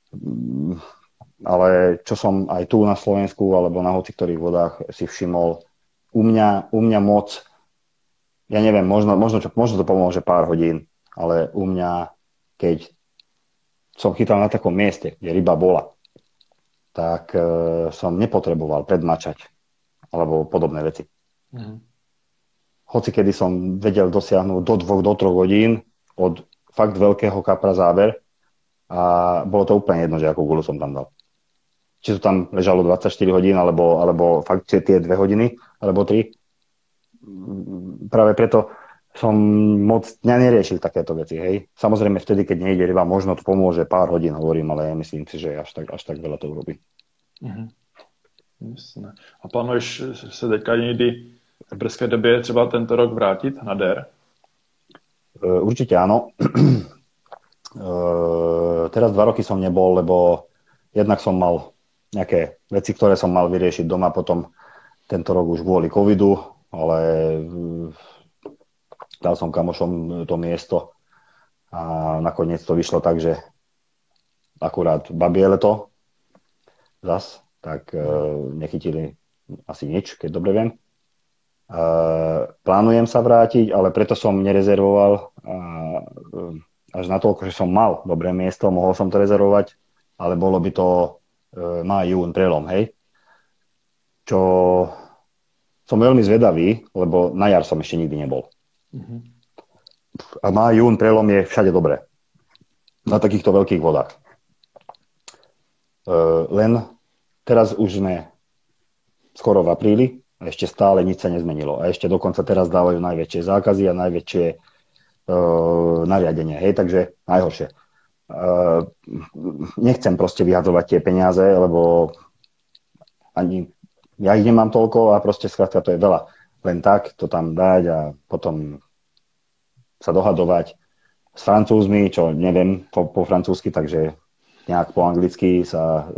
Ale čo som aj tu na Slovensku alebo na hociktorých vodách si všimol, u mňa moc, ja neviem, možno to pomôže pár hodín, ale u mňa, keď som chytal na takom mieste, kde ryba bola, tak som nepotreboval predmačať alebo podobné veci. Hoci kedy som vedel dosiahnuť do 2 do 3 hodín od fakt veľkého kapra záber a bolo to úplne jedno, že akú gulu som tam dal. Či to tam ležalo 24 hodín, alebo fakt tie 2 hodiny, alebo 3. Práve preto som moc neriešil takéto veci, hej. Samozrejme vtedy, keď nejde ryba, možno to pomôže pár hodín, hovorím, ale ja myslím si, že až tak veľa to urobí. Jasné. A plánuješ se teďka někdy v brzké době třeba tento rok vrátit na DER? Určite áno. Teraz 2 roky som nebol, lebo jednak som mal nejaké veci, ktoré som mal vyriešiť doma, potom tento rok už kvôli covidu, ale dal som kamošom to miesto a nakoniec to vyšlo tak, že akurát babie leto zas, tak nechytili asi nič, keď dobre viem. Plánujem sa vrátiť, ale preto som nerezervoval až natoľko, že som mal dobré miesto, mohol som to rezervovať, ale bolo by to máj, jún, prelom, hej. Čo som veľmi zvedavý, lebo na jar som ešte nikdy nebol. A máj, jún, prelom je všade dobré. Na takýchto veľkých vodách. Len teraz už sme skoro v apríli a ešte stále nič sa nezmenilo. A ešte dokonca teraz dávajú najväčšie zákazy a najväčšie nariadenie, hej, takže najhoršie. Nechcem proste vyhadzovať tie peniaze, lebo ani ja ich nemám toľko a proste skrátka to je veľa. Len tak to tam dať a potom sa dohadovať s Francúzmi, čo neviem po francúzsky, takže nejak po anglicky sa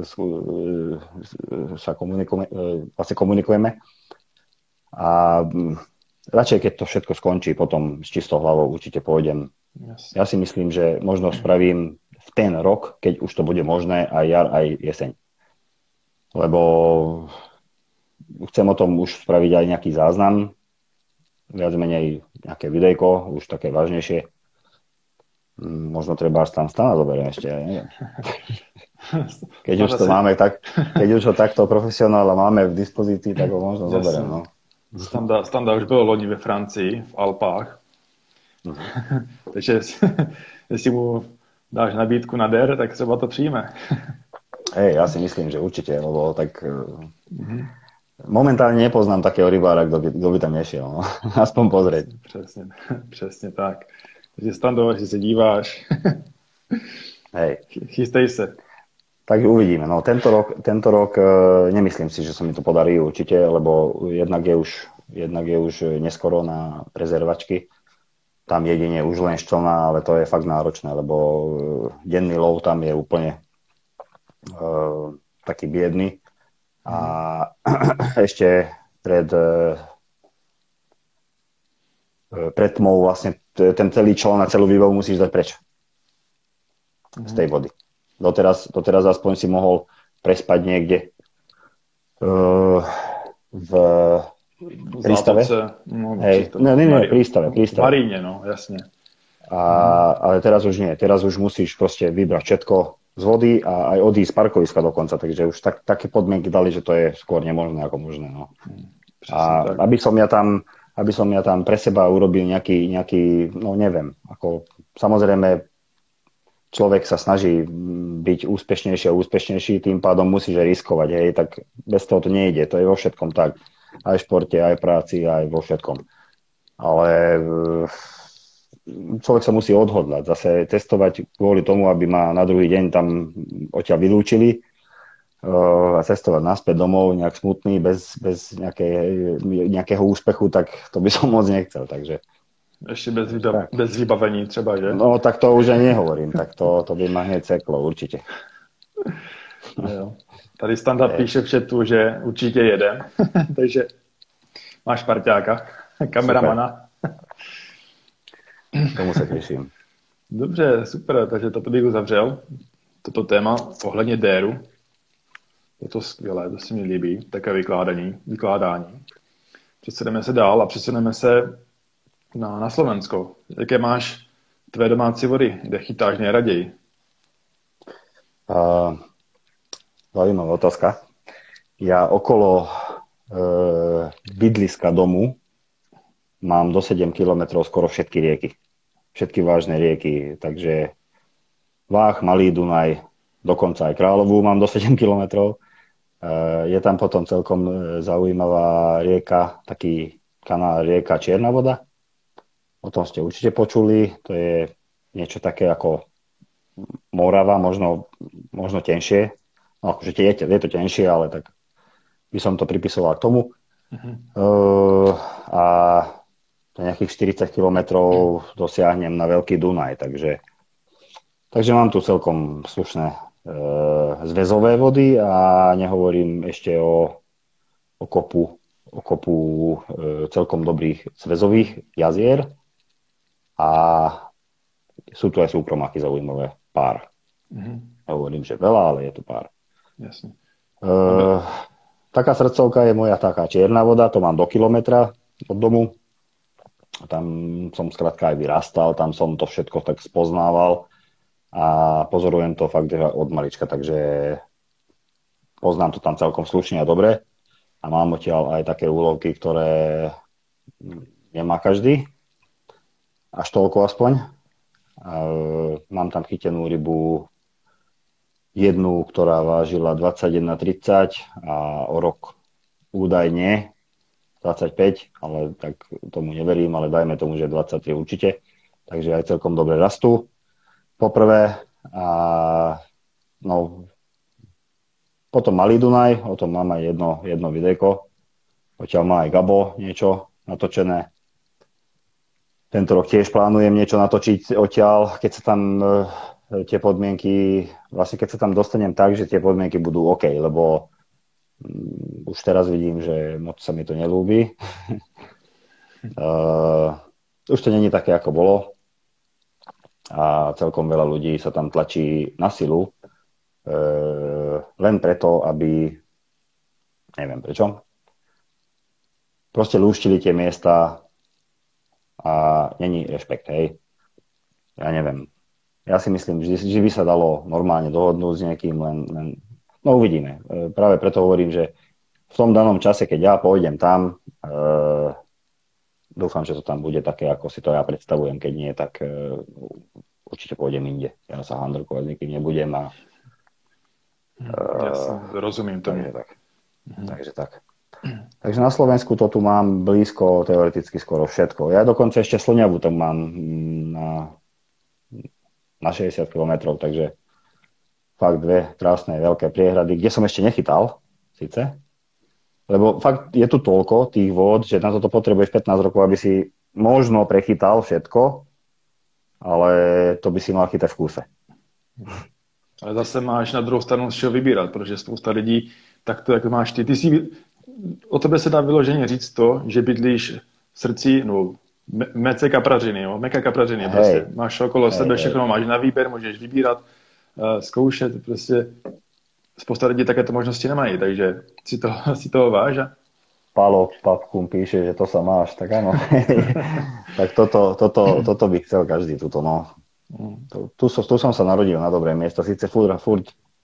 komunikujeme. A radšej, keď to všetko skončí, potom s čistou hlavou určite pôjdem. Yes. Ja si myslím, že možno spravím v ten rok, keď už to bude možné, aj jar, aj jeseň. Lebo chcem o tom už spraviť aj nejaký záznam, viac menej nejaké videjko, už také vážnejšie. Možno treba až tam stana zoberiem ešte, ja neviem. Keď už to si... máme tak, keď už ho takto profesionála máme v dispozícii, tak ho možno zoberiem, no. Standa už bylo loni ve Francii, v Alpách. Takže jestli mu dáš nabídku na der, tak třeba to přijme. Hej, ja si myslím, že určite, lebo tak momentálne nepoznám takého rybára, kto by tam nešiel, no. Aspoň pozrieť. Přesně tak. Takže Stando, jestli se díváš, hej. Chystej se. Takže uvidíme. No, tento rok nemyslím si, že sa mi to podarí určite, lebo jednak je už neskoro na rezervačky. Tam jedine už len ščelná, ale to je fakt náročné, lebo denný lov tam je úplne taký biedný. A ešte pred tmou vlastne ten celý čln a celú výbavu musíš dať preč z tej vody. Doteraz aspoň si mohol prespať niekde v prístave. Prístave. V Maríne, no, jasne. Ale teraz už nie. Teraz už musíš proste vybrať všetko z vody a aj odísť z parkoviska dokonca. Takže už také podmienky dali, že to je skôr nemožné ako možné. No. A aby som ja tam pre seba urobil nejaký no neviem, ako samozrejme človek sa snaží byť úspešnejší a úspešnejší, tým pádom musíš aj riskovať, hej, tak bez toho to nejde, to je vo všetkom tak, aj v športe, aj v práci, aj vo všetkom. Ale človek sa musí odhodlať, zase testovať kvôli tomu, aby ma na druhý deň tam odtiaľ vylúčili a cestovať naspäť domov nejak smutný, bez nejakého úspechu, tak to by som moc nechcel, takže ešte bez vybavení třeba, že? No, tak to už aj nehovorím. Tak to by ma hneď seklo, určite. Jo. Tady Standa píše v chatu, že určitě jedem. Takže máš parťáka, kameramana. Tomu se těším. Dobře, super. Takže toto bych uzavřel. Toto téma ohledně déru. Je to skvělé, to se mi líbí. Také vykládání. Přesuneme se dál a přesuneme se na Slovensko. Jaké máš tvé domácí vody? Kde chytáš nejraději? Zaujímavá otázka. Ja okolo bydliska domu mám do 7 kilometrov skoro všetky rieky. Všetky vážne rieky. Takže Váh, Malý Dunaj, dokonca aj Kráľovú mám do 7 kilometrov. Je tam potom celkom zaujímavá rieka, taký kanál rieka Čierna voda. O tom ste určite počuli. To je niečo také ako Morava, možno tenšie. No, akože je to tenšie, ale tak by som to pripisoval k tomu. A nejakých 40 kilometrov dosiahnem na Veľký Dunaj. Takže mám tu celkom slušné zväzové vody a nehovorím ešte o kopu celkom dobrých zväzových jazier. A sú tu aj súkromáky zaujímavé, pár. Hovorím, že veľa, ale je tu pár. Jasne. Taká srdcovka je moja taká Čierna voda, to mám do kilometra od domu. Tam som skrátka aj vyrastal, tam som to všetko tak spoznával a pozorujem to fakt od malička, takže poznám to tam celkom slušne a dobre. A mám odtiaľ aj také úlovky, ktoré nemá každý. Až toľko aspoň. Mám tam chytenú rybu jednu, ktorá vážila 21,30 a o rok údajne 25, ale tak tomu neverím, ale dajme tomu, že 23 určite. Takže aj celkom dobre rastú. Poprvé a no potom Malý Dunaj, o tom mám aj jedno videjko. Odtiaľ má aj Gabo niečo natočené. Tento rok tiež plánujem niečo natočiť odtiaľ, keď sa tam tie podmienky, vlastne keď sa tam dostanem tak, že tie podmienky budú OK, lebo už teraz vidím, že moc sa mi to nelúbi. Už to není také, ako bolo. A celkom veľa ľudí sa tam tlačí na silu, len preto, aby, neviem prečo, proste lúštili tie miesta a není rešpekt, hej. Ja neviem. Ja si myslím, že by sa dalo normálne dohodnúť s niekým, len no uvidíme. Práve preto hovorím, že v tom danom čase, keď ja pôjdem tam, dúfam, že to tam bude také, ako si to ja predstavujem. Keď nie, tak určite pôjdem inde. Ja sa handrkovať s nikým nebudem. Jasne, rozumiem tomu. Takže tak. Takže na Slovensku to tu mám blízko, teoreticky skoro všetko. Ja dokonca ešte Slňavu tam mám na 60 km, takže fakt dve krásne veľké priehrady, kde som ešte nechytal, síce. Lebo fakt je tu toľko tých vôd, že na toto potrebuješ 15 rokov, aby si možno prechytal všetko, ale to by si mal chytať v kúse. Ale zase máš na druhou stranu z čeho vybírat, protože spousta lidí, tak to, jak máš ty o tebe se dá vyloženě říct to, že bydlíš v srdci, no, mece kaprařiny, jo, meka kaprařiny, prostě. Máš okolo sebe všechno, máš na výběr, můžeš vybírat, zkoušet, prostě spousta lidí takéto možnosti nemají, takže si toho váž. Palo papkum píše, že to sa máš, tak áno. Tak toto by chcel každý, tuto, no. Tu som sa narodil na dobré miesto, síce furt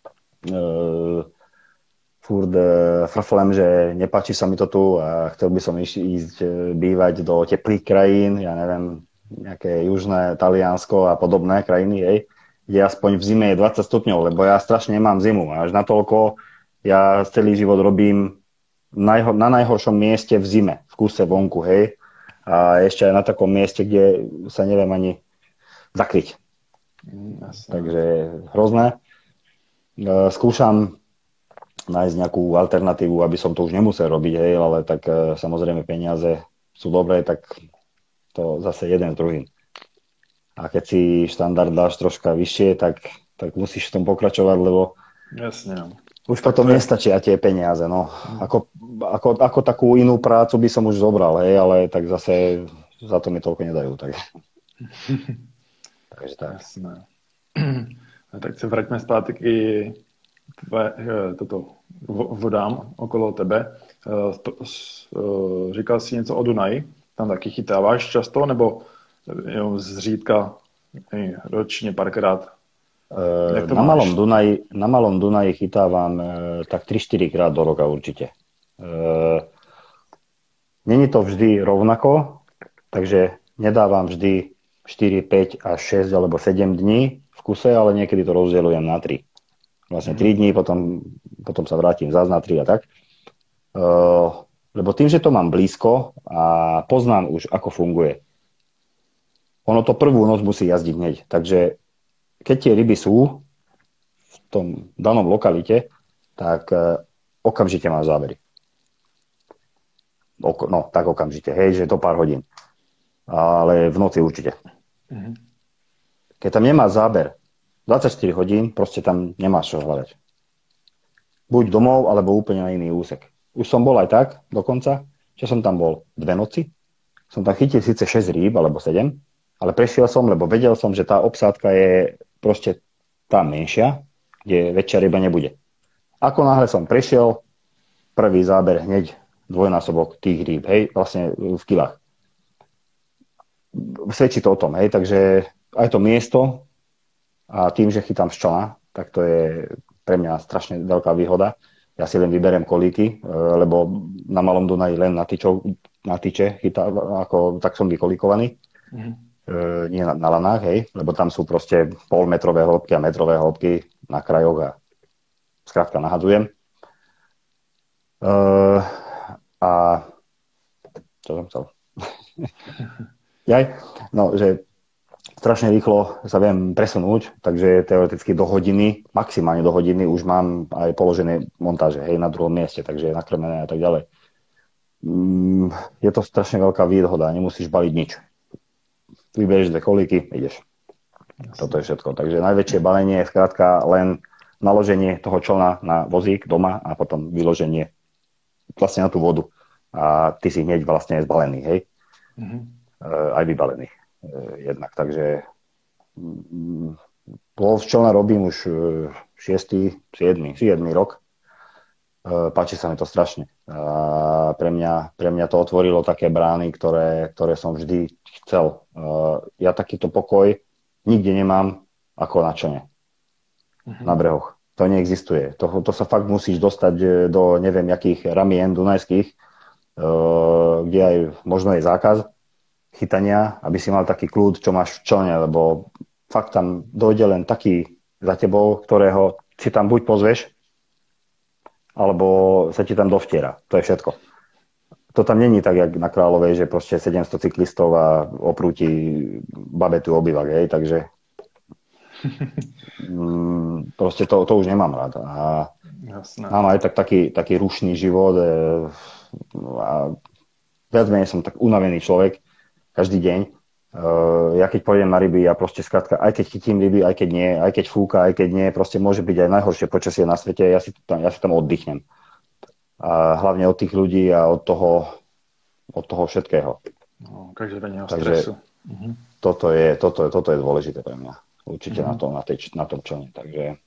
frflem, že nepáči sa mi to tu a chcel by som ísť bývať do teplých krajín, ja neviem, nejaké južné Taliansko a podobné krajiny, hej, kde aspoň v zime je 20 stupňov, lebo ja strašne nemám zimu. Až natoľko ja celý život robím na najhoršom mieste v zime, v kúse vonku, hej, a ešte aj na takom mieste, kde sa neviem ani zakryť. Takže hrozné. Skúšam nájsť nejakú alternatívu, aby som to už nemusel robiť, hej, ale tak samozrejme peniaze sú dobré, tak to zase jeden s druhým. A keď si štandard dáš troška vyššie, tak musíš v tom pokračovať, lebo jasne. Už potom nestačia tie peniaze, no. Ako takú inú prácu by som už zobral, hej, ale tak zase za to mi toľko nedajú, tak. Takže tak. Jasné. A tak se vraťme zpátky vodám okolo tebe. Říkal jsi něco o Dunaji? Tam taky chytáváš často, nebo jenom zřídka ročně párkrát? Na Malom Dunaji chytávam tak 3-4 krát do roka určite. Není to vždy rovnako, takže nedávam vždy 4, 5 až 6 alebo 7 dní v kuse, ale niekedy to rozdeľujem na 3. Vlastne 3 dní, potom sa vrátim zás na 3 a tak. Lebo tým, že to mám blízko a poznám už, ako funguje. Ono to prvú noc musí jazdiť hneď, takže keď tie ryby sú v tom danom lokalite, tak okamžite máš zábery. No, tak okamžite, hej, že to pár hodín. Ale v noci určite. Keď tam nemá záber 24 hodín, proste tam nemáš čo hľadať. Buď domov, alebo úplne na iný úsek. Už som bol aj tak, dokonca, že som tam bol 2 noci. Som tam chytil síce 6 rýb, alebo 7, ale prešiel som, lebo vedel som, že tá obsádka je proste tá menšia, kde väčšia ryba nebude. Ako náhle som prešiel, prvý záber hneď dvojnásobok tých rýb, hej, vlastne v kilách. Svedčí to o tom, hej, takže aj to miesto a tým, že chytám z člna, tak to je pre mňa strašne veľká výhoda. Ja si len vyberiem kolíky, lebo na Malom Dunaji len na tyče chytám, tak som vykolíkovaný. Nie na lanách, hej, lebo tam sú proste polmetrové hĺbky a metrové hĺbky na krajoch a skrátka nahadzujem. A čo som chcel? No, že strašne rýchlo sa viem presunúť, takže teoreticky do hodiny, maximálne do hodiny už mám aj položené montáže, hej, na druhom mieste, takže nakrmené a tak ďalej. Je to strašne veľká výhoda, nemusíš baliť nič. Vyberieš 2 kolíky, ideš. Toto je všetko. Takže najväčšie balenie je skrátka len naloženie toho člna na vozík doma a potom vyloženie vlastne na tú vodu. A ty si hneď vlastne zbalený, hej? Aj vybalený. Jednak. Takže lov z člna robím už 6., 7. rok. Páči sa mi to strašne. A pre mňa to otvorilo také brány, ktoré som vždy chcel. Ja takýto pokoj nikde nemám ako na člne. Na brehoch. To neexistuje. To sa fakt musíš dostať do neviem jakých ramien dunajských, kde aj možno je zákaz chytania, aby si mal taký kľud, čo máš v člne, lebo fakt tam dojde len taký za tebou, ktorého si tam buď pozveš, alebo sa ti tam dovtiera. To je všetko. To tam není tak, jak na Kráľovej, že proste 700 cyklistov a oprúti babetu obývak, hej, takže proste to už nemám rád. A mám aj taký rušný život a viac menej som tak unavený človek každý deň. Ja keď pôjdem na ryby, ja proste skrátka, aj keď chytím ryby, aj keď nie, aj keď fúka, aj keď nie, proste môže byť aj najhoršie počasie na svete, ja si tam oddychnem. A hlavne od tých ľudí a od toho všetkého. No, každodenného stresu. Toto je dôležité pre mňa. Určite na tom člne. Takže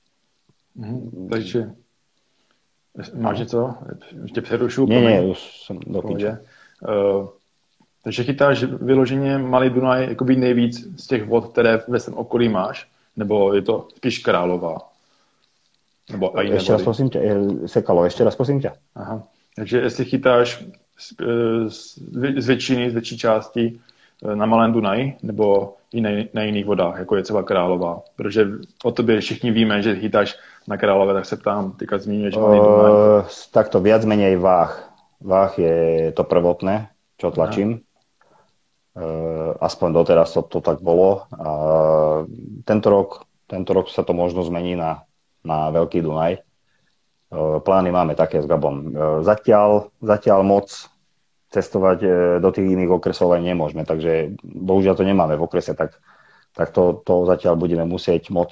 máš něco? Ještě přerušu? Nie, už som do píče. Takže chytáš vyloženě Malý Dunaj jakoby nejvíc z těch vod, které ve svém okolí máš? Nebo je to spíš Králová? Nebo aj ešte raz prosím ťa, Sekalo, ešte raz prosím ťa. Aha. Takže jestli chytáš z větší části na Malém Dunaji, nebo i na jiných vodách, jako je třeba Králová. Protože o tobě všichni víme, že chytáš na Králové, tak se ptám, teďka zmíníš Malý Dunaj. Takto viac menej váh. Váh je to prvotné, čo tlačím. Aspoň doteraz to tak bolo. A tento rok sa to možno zmení na Veľký Dunaj. Plány máme také s Gabom. Zatiaľ moc cestovať do tých iných okresov aj nemôžeme, takže bohužiaľ to nemáme v okrese, tak to zatiaľ budeme musieť moc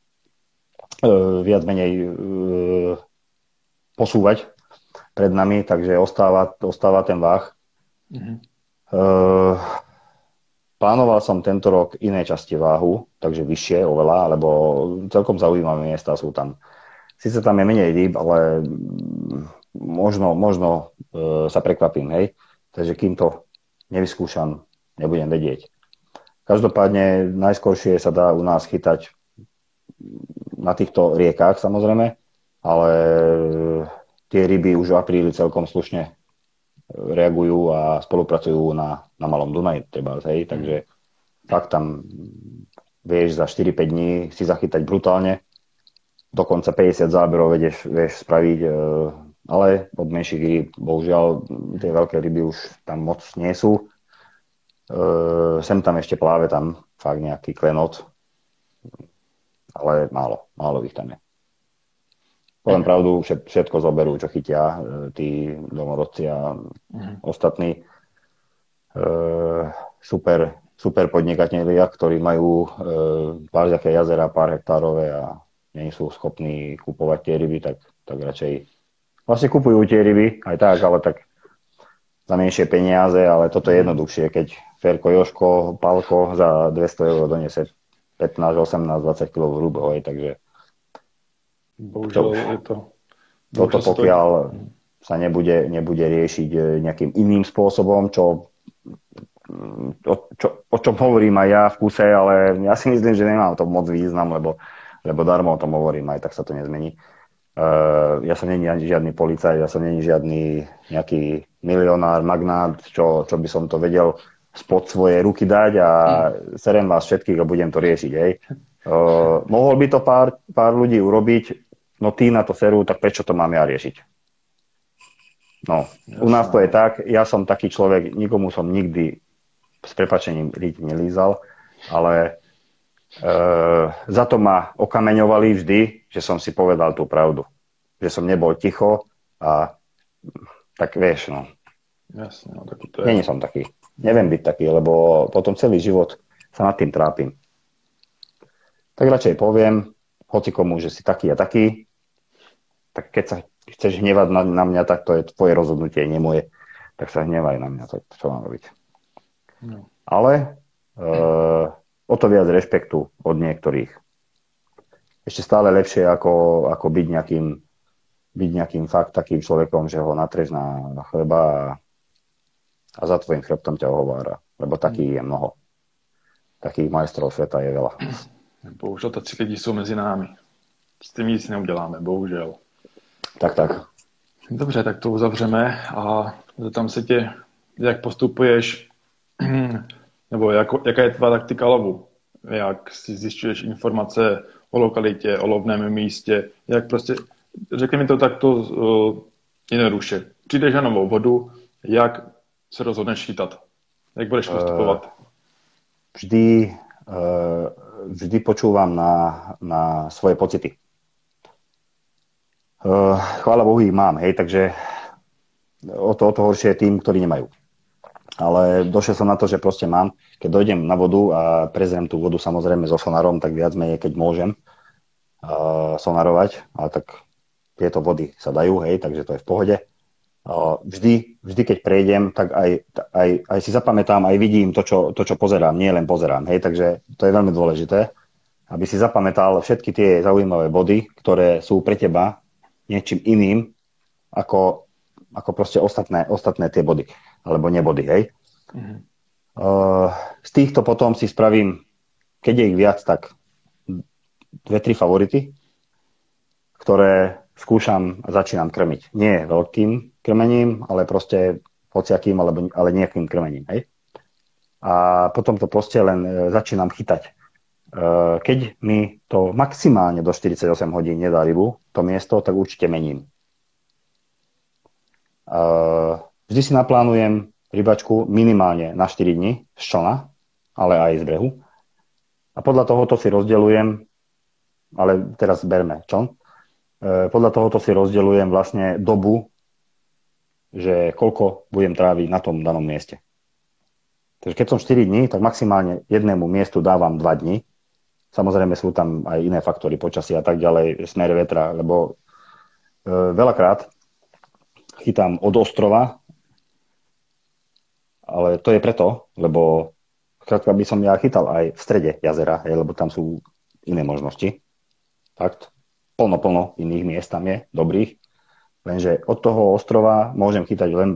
viac menej posúvať pred nami, takže ostáva ten váh. Plánoval som tento rok iné časti váhu, takže vyššie oveľa, lebo celkom zaujímavé miesta sú tam. Sice tam je menej rýb, ale možno sa prekvapím, hej. Takže kým to nevyskúšam, nebudem vedieť. Každopádne najskoršie sa dá u nás chytať na týchto riekách, samozrejme, ale tie ryby už v apríli celkom slušne reagujú a spolupracujú na Malom Dunaji, treba, hej. Takže fakt tam vieš za 4-5 dní si zachytať brutálne. Dokonca 50 záberov vieš spraviť, ale od menších rýb, bohužiaľ, tie veľké ryby už tam moc nie sú. Sem tam ešte pláve tam fakt nejaký klenot, ale málo ich tam je. Poviem pravdu, všetko zoberú, čo chytia tí domorodci a ostatní super podnikatelia, ktorí majú pár také jazera, pár hektárové a nie sú schopní kupovať tie ryby, tak radšej vlastne kupujú tie ryby, aj tak, ale tak za menšie peniaze, ale toto je jednoduchšie, keď Ferko, Joško, Palko za 200 € donese 15, 18, 20 kg hrubého, takže bohužiaľ je to... Toto pokiaľ sa nebude riešiť nejakým iným spôsobom, o čom hovorím aj ja v kuse, ale ja si myslím, že nemám to moc význam, lebo darmo o tom hovorím, aj tak sa to nezmení. Ja som není žiadny policajt, ja som není žiadny nejaký milionár, magnát, čo by som to vedel spod svojej ruky dať a serem vás všetkých a budem to riešiť. Hej. Mohol by to pár ľudí urobiť, no tí na to serú, tak prečo to mám ja riešiť? No, u nás to je tak, ja som taký človek, nikomu som nikdy s prepáčením nelízal, ale za to ma okameňovali vždy, že som si povedal tú pravdu. Že som nebol ticho a tak vieš, no. Jasne, no tak to je... Nie som taký. Neviem byť taký, lebo potom celý život sa nad tým trápim. Tak radšej poviem hocikomu, že si taký a taký, tak keď sa chceš hnevať na mňa, tak to je tvoje rozhodnutie, nie moje. Tak sa hnevaj na mňa, tak čo mám robiť. No. Ale o to viac rešpektu od niektorých. Ešte stále lepšie ako byť nejakým fakt takým človekom, že ho natreš na chleba a za tvojim chrbtom ťa ohovára. Lebo takých je mnoho. Takých majstrov sveta je veľa. Bohužel to 3 lidi jsou mezi námi. S tím nic neuděláme, bohužel. Tak. Dobře, tak to uzavřeme a zeptám se tě, jak postupuješ, nebo jaká je tvá taktika lovu, jak si zjišťuješ informace o lokalitě, o lovném místě, jak prostě, řekni mi to takto jednoduše. Přijdeš na novou vodu, jak se rozhodneš chytat? Jak budeš postupovat? Vždy počúvam na svoje pocity. Chvála Bohu ich mám, hej, takže o to horšie je tým, ktorí nemajú. Ale došiel som na to, že proste mám, keď dojdem na vodu a prezriem tú vodu samozrejme so sonarom, tak viac menej, keď môžem sonarovať, ale tak tieto vody sa dajú, hej, takže to je v pohode. Vždy, keď prejdem, tak aj si zapamätám, aj vidím to, čo pozerám, nie len pozerám, hej, takže to je veľmi dôležité, aby si zapamätal všetky tie zaujímavé body, ktoré sú pre teba niečím iným, ako proste ostatné tie body, alebo nebody, hej. Mm-hmm. Z týchto potom si spravím, keď je ich viac, tak 2-3 favority, ktoré skúšam a začínam krmiť. Nie veľkým krmením, ale proste hociakým, ale nejakým krmením, hej. A potom to proste len začínam chytať. Keď mi to maximálne do 48 hodín nedá rybu, to miesto, tak určite mením. Vždy si naplánujem rybačku minimálne na 4 dni z člna, ale aj z brehu. A podľa tohoto si rozdeľujem, ale teraz berme čln, podľa tohoto si rozdeľujem vlastne dobu, že koľko budem tráviť na tom danom mieste. Takže keď som 4 dní, tak maximálne jednému miestu dávam 2 dni. Samozrejme sú tam aj iné faktory, počasia a tak ďalej, smer vetra, lebo veľakrát chytám od ostrova, ale to je preto, lebo skrátka by som ja chytal aj v strede jazera, lebo tam sú iné možnosti. Fakt, plno iných miest tam je, dobrých. Lenže od toho ostrova môžem chytať len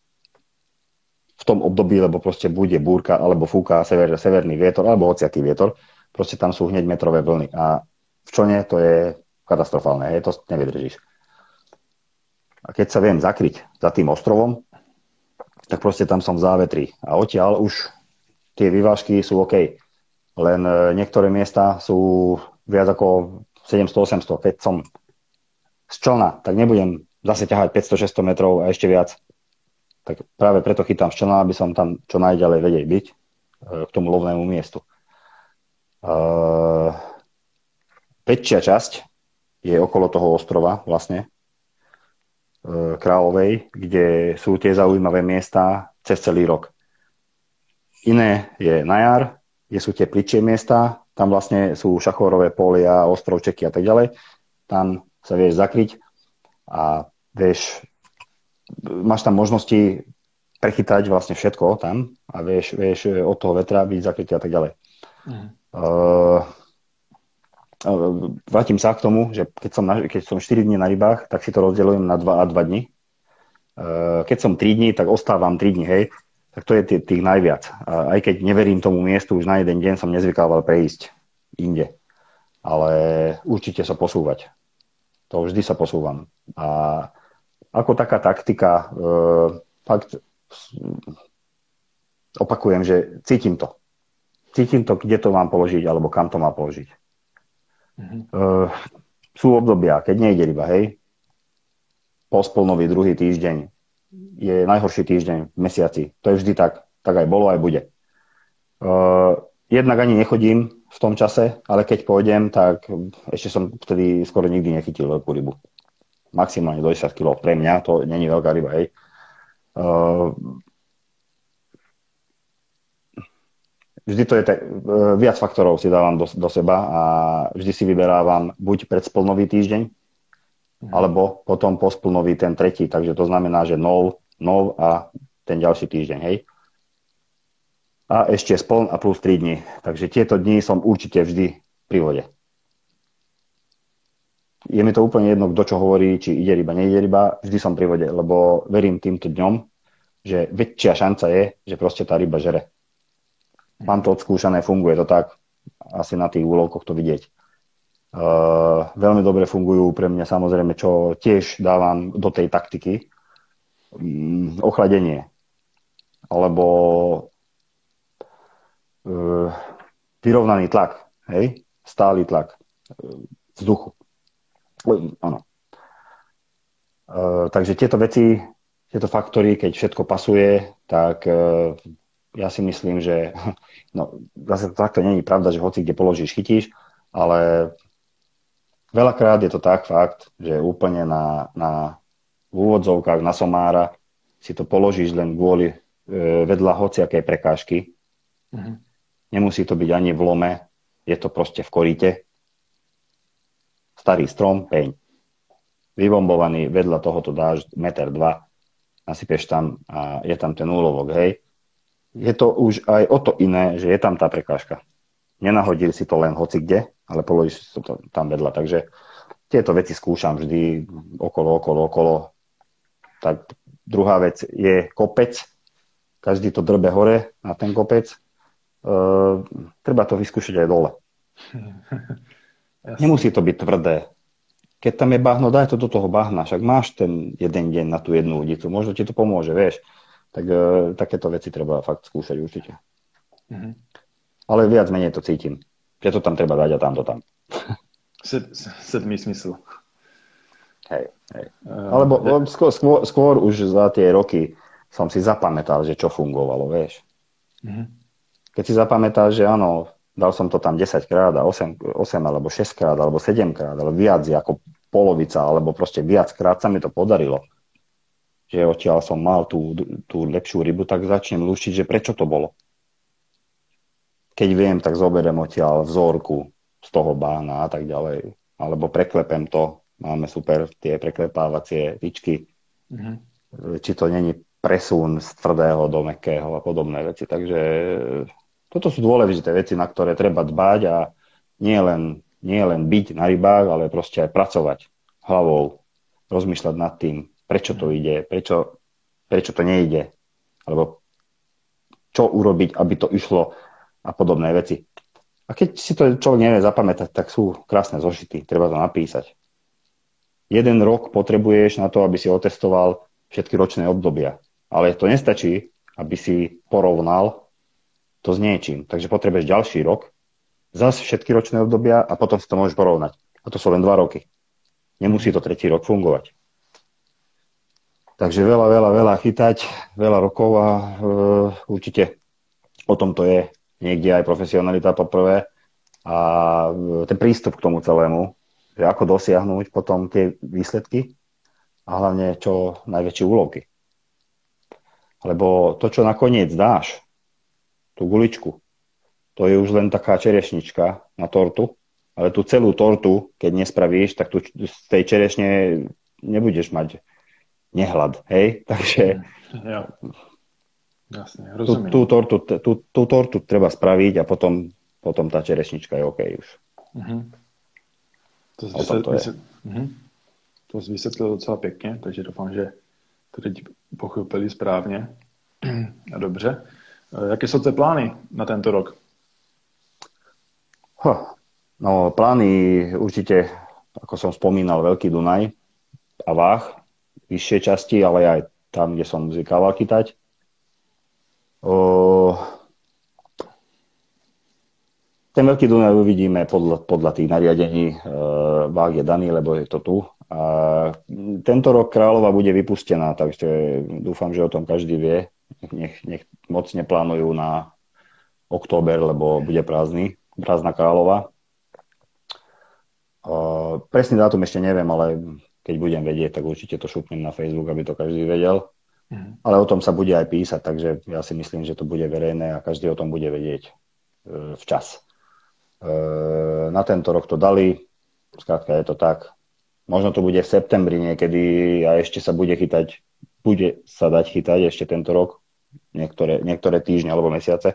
v tom období, lebo proste bude búrka, alebo fúka severný vietor, alebo hociaký vietor. Proste tam sú hneď metrové vlny. A v člne to je katastrofálne, to nevydržíš. A keď sa viem zakryť za tým ostrovom, tak proste tam som v závetri. A odtiaľ už tie vyvážky sú OK. Len niektoré miesta sú viac ako 700-800. Keď som z člna, tak nebudem zase ťahať 500-600 metrov a ešte viac. Tak práve preto chytám z člna, aby som tam čo najďalej vedel byť k tomu lovnému miestu. Väčšia časť je okolo toho ostrova vlastne Kráľovej, kde sú tie zaujímavé miesta cez celý rok. Iné je na jar, kde sú tie pličie miesta, tam vlastne sú šachórové polia, ostrovčeky a tak ďalej. Tam sa vieš zakryť a vieš, máš tam možnosti prechytať vlastne všetko tam a vieš od toho vetra byť zakrytý a tak ďalej. Vrátim sa k tomu, že keď som 4 dní na rybách, tak si to rozdeľujem na 2 a 2 dni. Keď som 3 dní, tak ostávam 3 dní, hej. Tak to je tých najviac. Aj keď neverím tomu miestu, už na jeden deň som nezvykával prejsť inde. Ale určite sa posúvať. To vždy sa posúvam. A ako taká taktika, fakt opakujem, že cítim to. Cítim to, kde to mám položiť, alebo kam to mám položiť. Mm-hmm. Sú obdobia, keď nejde ryba, hej. Pospolnový druhý týždeň je najhorší týždeň v mesiaci. To je vždy tak. Tak aj bolo, aj bude. Jednak ani nechodím v tom čase, ale keď pôjdem, tak ešte som vtedy skoro nikdy nechytil veľkú rybu. Maximálne do 10 kg. Pre mňa to není veľká ryba, hej. Vždy to je viac faktorov si dávam do seba a vždy si vyberávam buď predspolnový týždeň, alebo potom pospolnový ten tretí. Takže to znamená, že nov a ten ďalší týždeň, hej. A ešte spln a plus 3 dní. Takže tieto dni som určite vždy pri vode. Je mi to úplne jedno, kto čo hovorí, či ide ryba, nejde ryba, vždy som pri vode, lebo verím týmto dňom, že väčšia šanca je, že proste tá ryba žere. Mám to odskúšané, funguje to tak. asi na tých úlovkoch to vidieť. Veľmi dobre fungujú pre mňa samozrejme, čo tiež dávam do tej taktiky, ochladenie alebo vyrovnaný tlak, hej? Stály tlak vzduchu. Áno. Takže tieto veci, tieto faktory, keď všetko pasuje, tak ja si myslím, že no, zase takto nie je pravda, že hoci kde položíš, chytíš, ale veľakrát je to tak fakt, že úplne v úvodzovkách na somára si to položíš len kvôli vedľa hociakej prekážky. Mm-hmm. Nemusí to byť ani v lome, je to proste v koríte. Starý strom, peň. Vybombovaný, vedľa toho to dáš 1,2 m, nasypeš tam a je tam ten úlovok, hej. Je to už aj o to iné, že je tam tá prekážka. Nenahodil si to len hoci kde, ale položíš si to tam vedľa. Takže tieto veci skúšam vždy okolo. Tak druhá vec je kopec. Každý to drbe hore na ten kopec. Treba to vyskúšať aj dole. Nemusí to byť tvrdé. Keď tam je bahno, daj to do toho bahna. Však máš ten jeden deň na tú jednu udicu. Možno ti to pomôže, vieš. Tak takéto veci treba fakt skúšať určite. Mm-hmm. Ale viac menej to cítim. Že to tam treba dať a tam to tam. Sedmý smysl. Hej. Alebo skôr už za tie roky som si zapamätal, že čo fungovalo, vieš. Mm-hmm. Keď si zapamätáš, že áno, dal som to tam 10 krát a 8 alebo 6 krát alebo 7 krát, ale viac ako polovica, alebo proste viac krát sa mi to podarilo. Že odtiaľ som mal tú lepšiu rybu, tak začnem lúštiť, že prečo to bolo. Keď viem, tak zoberiem odtiaľ vzorku z toho bahna a tak ďalej. Alebo preklepem to. Máme super tie preklepávacie tyčky. Mm-hmm. Či to není presun z tvrdého do mäkkého a podobné veci. Takže toto sú dôležité veci, na ktoré treba dbať a nie len byť na rybách, ale proste aj pracovať hlavou, rozmýšľať nad tým, prečo to ide, prečo to nejde, alebo čo urobiť, aby to išlo a podobné veci. A keď si to človek nevie zapamätať, tak sú krásne zošity, treba to napísať. 1 rok potrebuješ na to, aby si otestoval všetky ročné obdobia. Ale to nestačí, aby si porovnal to s niečím. Takže potrebuješ ďalší rok, zase všetky ročné obdobia a potom si to môžeš porovnať. A to sú len 2 roky. Nemusí to 3. rok fungovať. Takže veľa chytať, veľa rokov a určite o tom to je niekde aj profesionalita poprvé a ten prístup k tomu celému, že ako dosiahnuť potom tie výsledky a hlavne čo najväčšie úlovky. Lebo to, čo nakoniec dáš, tú guličku, to je už len taká čerešnička na tortu, ale tú celú tortu, keď nespravíš, tak z tej čerešne nebudeš mať nehlad, hej? Takže ja. Jasne, rozumiem. Tú tortu treba spraviť a potom tá čerešnička je OK už. Uh-huh. To vysvětlil docela pěkně, takže doufám, že to teď pochopili správně. A dobře. Jaké jsou tvoje plány na tento rok? No, plány určite, ako som spomínal, Veľký Dunaj a Váh, vyššie časti, ale aj tam, kde som zvykával chytať. Ten Veľký Dunaj uvidíme podľa tých nariadení. Váh je daný, lebo je to tu. A tento rok Kráľova bude vypustená, takže dúfam, že o tom každý vie. Nech moc neplánujú na október, lebo bude prázdna Kráľova. Presný dátum ešte neviem, ale keď budem vedieť, tak určite to šupnem na Facebook, aby to každý vedel. Ale o tom sa bude aj písať, takže ja si myslím, že to bude verejné a každý o tom bude vedieť včas. Na tento rok to dali, skrátka je to tak. Možno to bude v septembri niekedy a ešte sa bude sa dať chytať ešte tento rok, niektoré týždne alebo mesiace.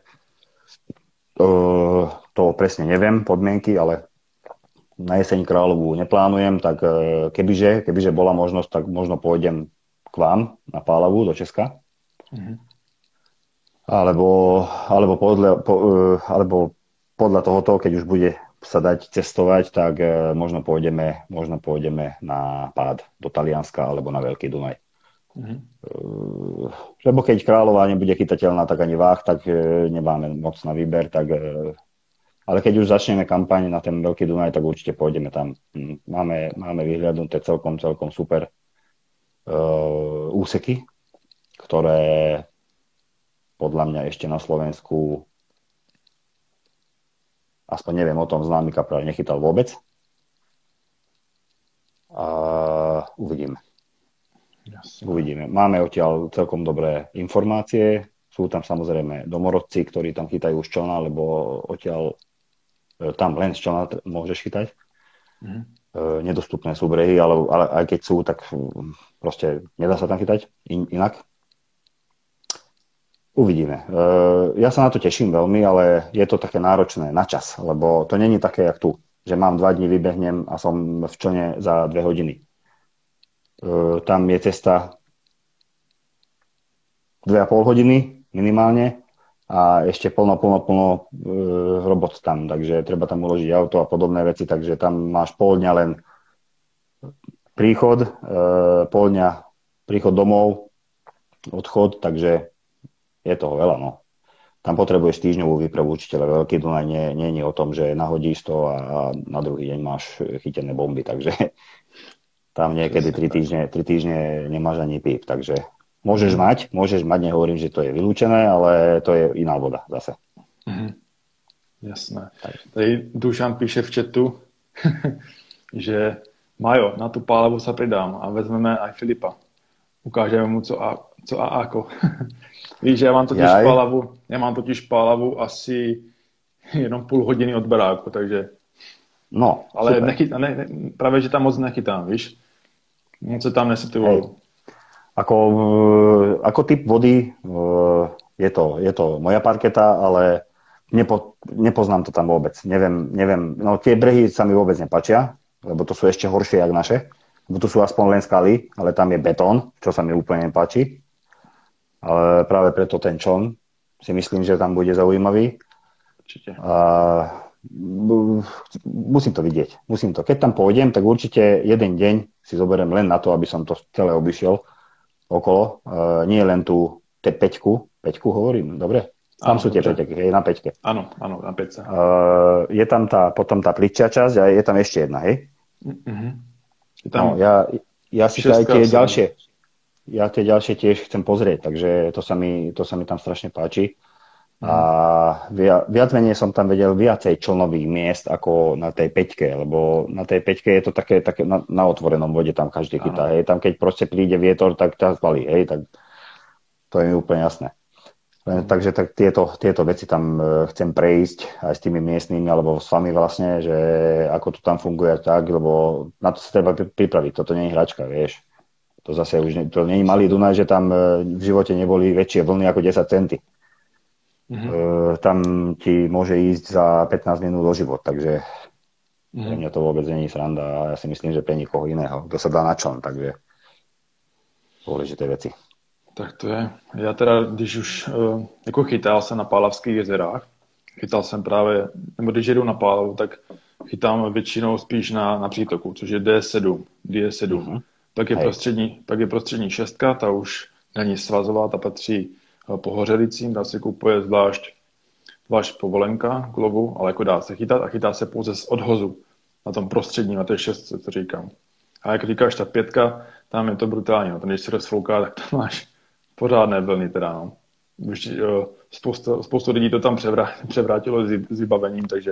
To presne neviem, podmienky, ale na jeseň Kráľovu neplánujem, tak kebyže bola možnosť, tak možno pôjdem k vám na Pálavu do Česka. Mm-hmm. Alebo podľa tohoto, keď už bude sa dať cestovať, tak možno pôjdeme na pád do Talianska alebo na Veľký Dunaj. Mhm. Lebo keď Kráľová nebude chytateľná, tak ani Váh, tak nemáme moc na výber, tak ale keď už začneme kampaň na ten Veľký Dunaj, tak určite pôjdeme tam. Máme vyhľadnuté celkom super úseky, ktoré podľa mňa ešte na Slovensku, aspoň neviem o tom, známy kaprál nechytal vôbec. A uvidíme. Jasne. Uvidíme. Máme odtiaľ celkom dobré informácie. Sú tam samozrejme domorodci, ktorí tam chytajú z člna, lebo odtiaľ tam len z člna môžeš chytať. Mhm. Nedostupné sú brehy, ale aj keď sú, tak proste nedá sa tam chytať inak. Uvidíme. Ja sa na to teším veľmi, ale je to také náročné na čas, lebo to není také, jak tu, že mám 2 dní, vybehnem a som v člne za 2 hodiny. Tam je cesta 2,5 hodiny minimálne a ešte plno robot tam, takže treba tam uložiť auto a podobné veci, takže tam máš pol dňa len príchod, pol dňa príchod domov, odchod, takže je toho veľa, no. Tam potrebuješ týždňovú výpravu učiteľa. Veľký Dunaj nie je o tom, že nahodíš to a na druhý deň máš chytené bomby, takže tam niekedy 3 týždne nemáš ani píp, takže môžeš mať, nehovorím, že to je vylúčené, ale to je iná voda zase. Mhm. Jasné. Tady Dušan píše v chatu, že Majo, na tu pálevu sa pridám a vezmeme aj Filipa. Ukážeme mu, co a ako. Víš, já mám totiž pálavu asi jenom půl hodiny od baráku, takže... No, ale právě, že tam moc nechytám, víš? Něco tam nesetuju. Ako typ vody je to moja parketa, ale nepoznám to tam vôbec. Neviem, no tie brehy sa mi vôbec nepačia, lebo to sú ešte horšie jak naše. Lebo tu sú aspoň len skaly, ale tam je betón, čo sa mi úplne nepáči. Ale práve preto ten čln si myslím, že tam bude zaujímavý. Určite. Musím to vidieť. Keď tam pôjdem, tak určite jeden deň si zoberiem len na to, aby som to celé obišiel okolo. Nie len tú peťku hovorím, dobre? Tam sú tie peťky, na peťke. Áno, na peťce. Je tam potom tá pličia časť a je tam ešte jedna, hej? Mm-hmm. No, ja si aj tie ďalšie. Ja tie ďalšie tiež chcem pozrieť, takže to sa mi tam strašne páči. A viac menej som tam vedel viacej člnových miest ako na tej peťke, lebo na tej peťke je to také na otvorenom vode, tam každý chytá, hej. Tam keď proste príde vietor, tak ťa zbalí, hej, tak to je mi úplne jasné. Takže tak tieto veci tam chcem prejsť aj s tými miestnymi, alebo s vami vlastne, že ako to tam funguje tak, lebo na to sa treba pripraviť, toto nie je hračka, vieš. To zase už to nie je malý Dunaj, že tam v živote neboli väčšie vlny ako 10 centy. Mm-hmm. Tam ti môže ísť za 15 minút o život, takže pre mňa to vôbec nie je sranda a ja si myslím, že pre nikoho iného, kto sa dá na čln, takže dôležité veci. Tak to je. Já teda, když už jako chytal jsem na Pálavských jezerách, chytal jsem právě, nebo když jedu na Pálavu, tak chytám většinou spíš na přítoku, což je D7. Mm-hmm. Pak je prostřední šestka, ta už není svazová, ta patří pohořelicím, dá se kupuje zvlášť povolenka k lovu, ale jako dá se chytat a chytá se pouze z odhozu na tom prostředním, na té šestce, co říkám. A jak říkáš, ta pětka, tam je to brutální, no. Když se rozfouká, tak tam máš pořádné vlny teda, no. Už spoustu lidí to tam převrátilo s vybavením, takže...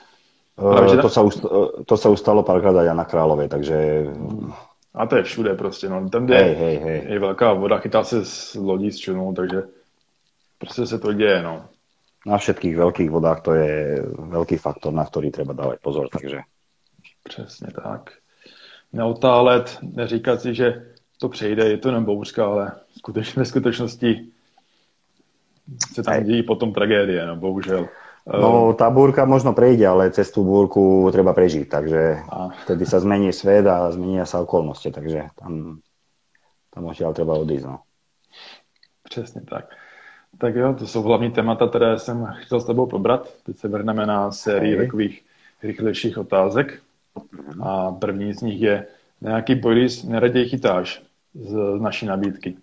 To sa už stalo párkrát aj na Kráľovej, takže... A to je všude prostě, no. Tam, kde je velká voda, chytá se z lodí s člunou, takže prostě se to děje, no. Na všetkých veľkých vodách to je veľký faktor, na ktorý treba dávať pozor, takže... Přesně tak. Neotálet, neříkat si, že to přejde, je to jenom bouřka, ale ve skutečnosti se tam dějí potom tragédie, no, bohužel. No, tá búrka možno prejde, ale cez tú búrku treba prežiť, takže vtedy sa zmení svet a zmenia sa okolnosti, takže tam odtiaľ treba odísť, no. Přesně tak. Tak jo, to jsou hlavní témata, které jsem chtěl s tebou probrat. Teď se vrhneme na sérii Hej. takových rychlejších otázek. A první z nich je, na jaký boilies neraději chytáš z naší nabídky?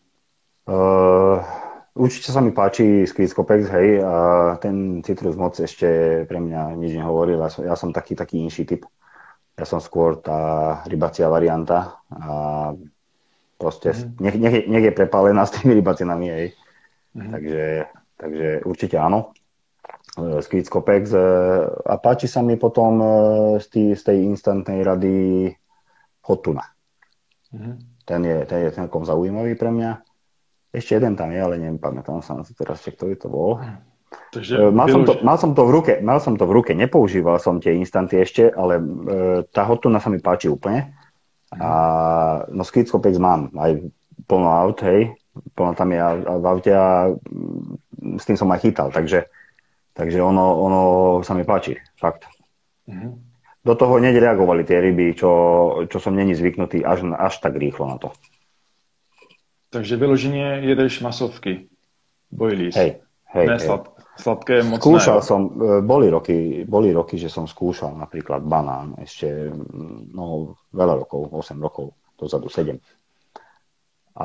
Určite sa mi páči Squeeze Copex, hej, a ten citrus moc ešte pre mňa nič nehovoril. Ja som taký inší typ. Ja som skôr tá rybacia varianta a proste nech je prepálená s tými rybacinami, hej. Takže určite áno. Squeeze Copex. A páči sa mi potom z tej instantnej rady Hot Tuna. Ten je celkom zaujímavý pre mňa. Ešte jeden tam je, ale nepamätám sa na to teraz, ktorý to bol. Takže mal som to v ruke, nepoužíval som tie instanty ešte, ale tá Hot Tuna sa mi páči úplne. A no Squeeze Copex mám aj plno aut, hej, plno tam je v aute a s tým som aj chytal, takže ono sa mi páči, fakt. Do toho nereagovali tie ryby, čo som není zvyknutý až tak rýchlo na to. Takže vyloženě jedeš masovky, boilies. Hej. Sladké moc skúšal som, boli roky, že som skúšal napríklad banán ešte veľa rokov, 8 rokov dozadu, 7. A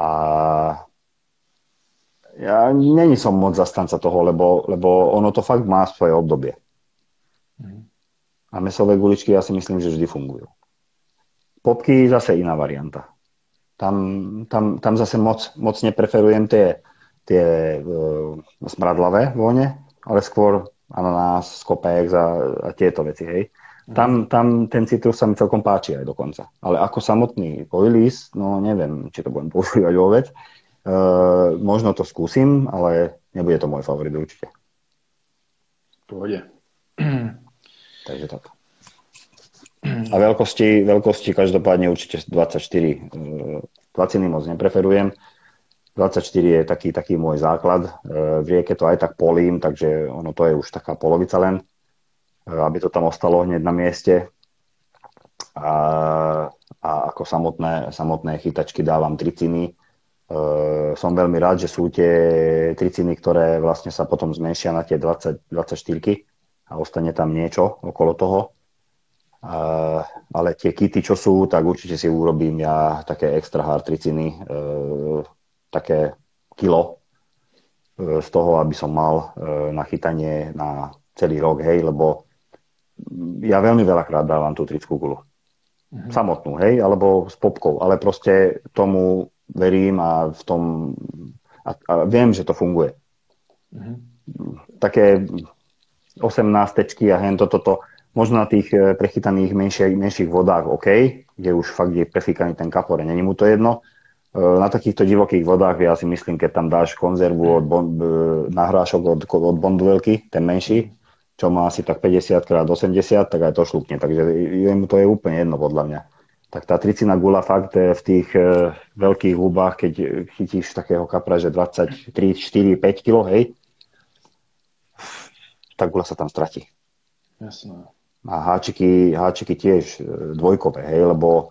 ja není som moc zastanca toho, lebo ono to fakt má svoje obdobie. A mäsové guličky ja si myslím, že vždy fungujú. Popky zase iná varianta. Tam zase moc nepreferujem tie smradlavé vône, ale skôr ananás, Copex a tieto veci, hej. Tam ten citrus sa mi celkom páči aj dokonca. Ale ako samotný boilies, no neviem, či to budem používať vôbec. Možno to skúsim, ale nebude to môj favorit určite. V pohodě. Takže tak. A veľkosti každopádne určite 24. Tlaciny moc nepreferujem. 24 je taký môj základ. V rieke to aj tak polím, takže ono to je už taká polovica len, aby to tam ostalo hneď na mieste. A ako samotné chytačky dávam triciny. Som veľmi rád, že sú tie triciny, ktoré vlastne sa potom zmenšia na tie 24 a ostane tam niečo okolo toho. Ale tie kity, čo sú, tak určite si urobím ja také extra hard triciny, také kilo z toho, aby som mal na chytanie na celý rok, hej, lebo ja veľmi veľakrát dávam tú trickú gulu. Samotnú, hej, alebo s popkou, ale proste tomu verím a v tom a viem, že to funguje. Také 18 a hen toto možno na tých prechytaných menších vodách OK, kde už fakt je prefíkaný ten kapor, není mu to jedno. Na takýchto divokých vodách ja si myslím, keď tam dáš konzervu nahrášok od Bonduelky, ten menší, čo má asi tak 50x80, tak aj to šlukne. Takže jemu to je úplne jedno podľa mňa. Tak tá tricina gula fakt v tých veľkých hubách, keď chytíš takého kapra, že 23, 4, 5 kg, hej, tá gula sa tam stratí. Jasné. A háčiky tiež dvojkové, hej, lebo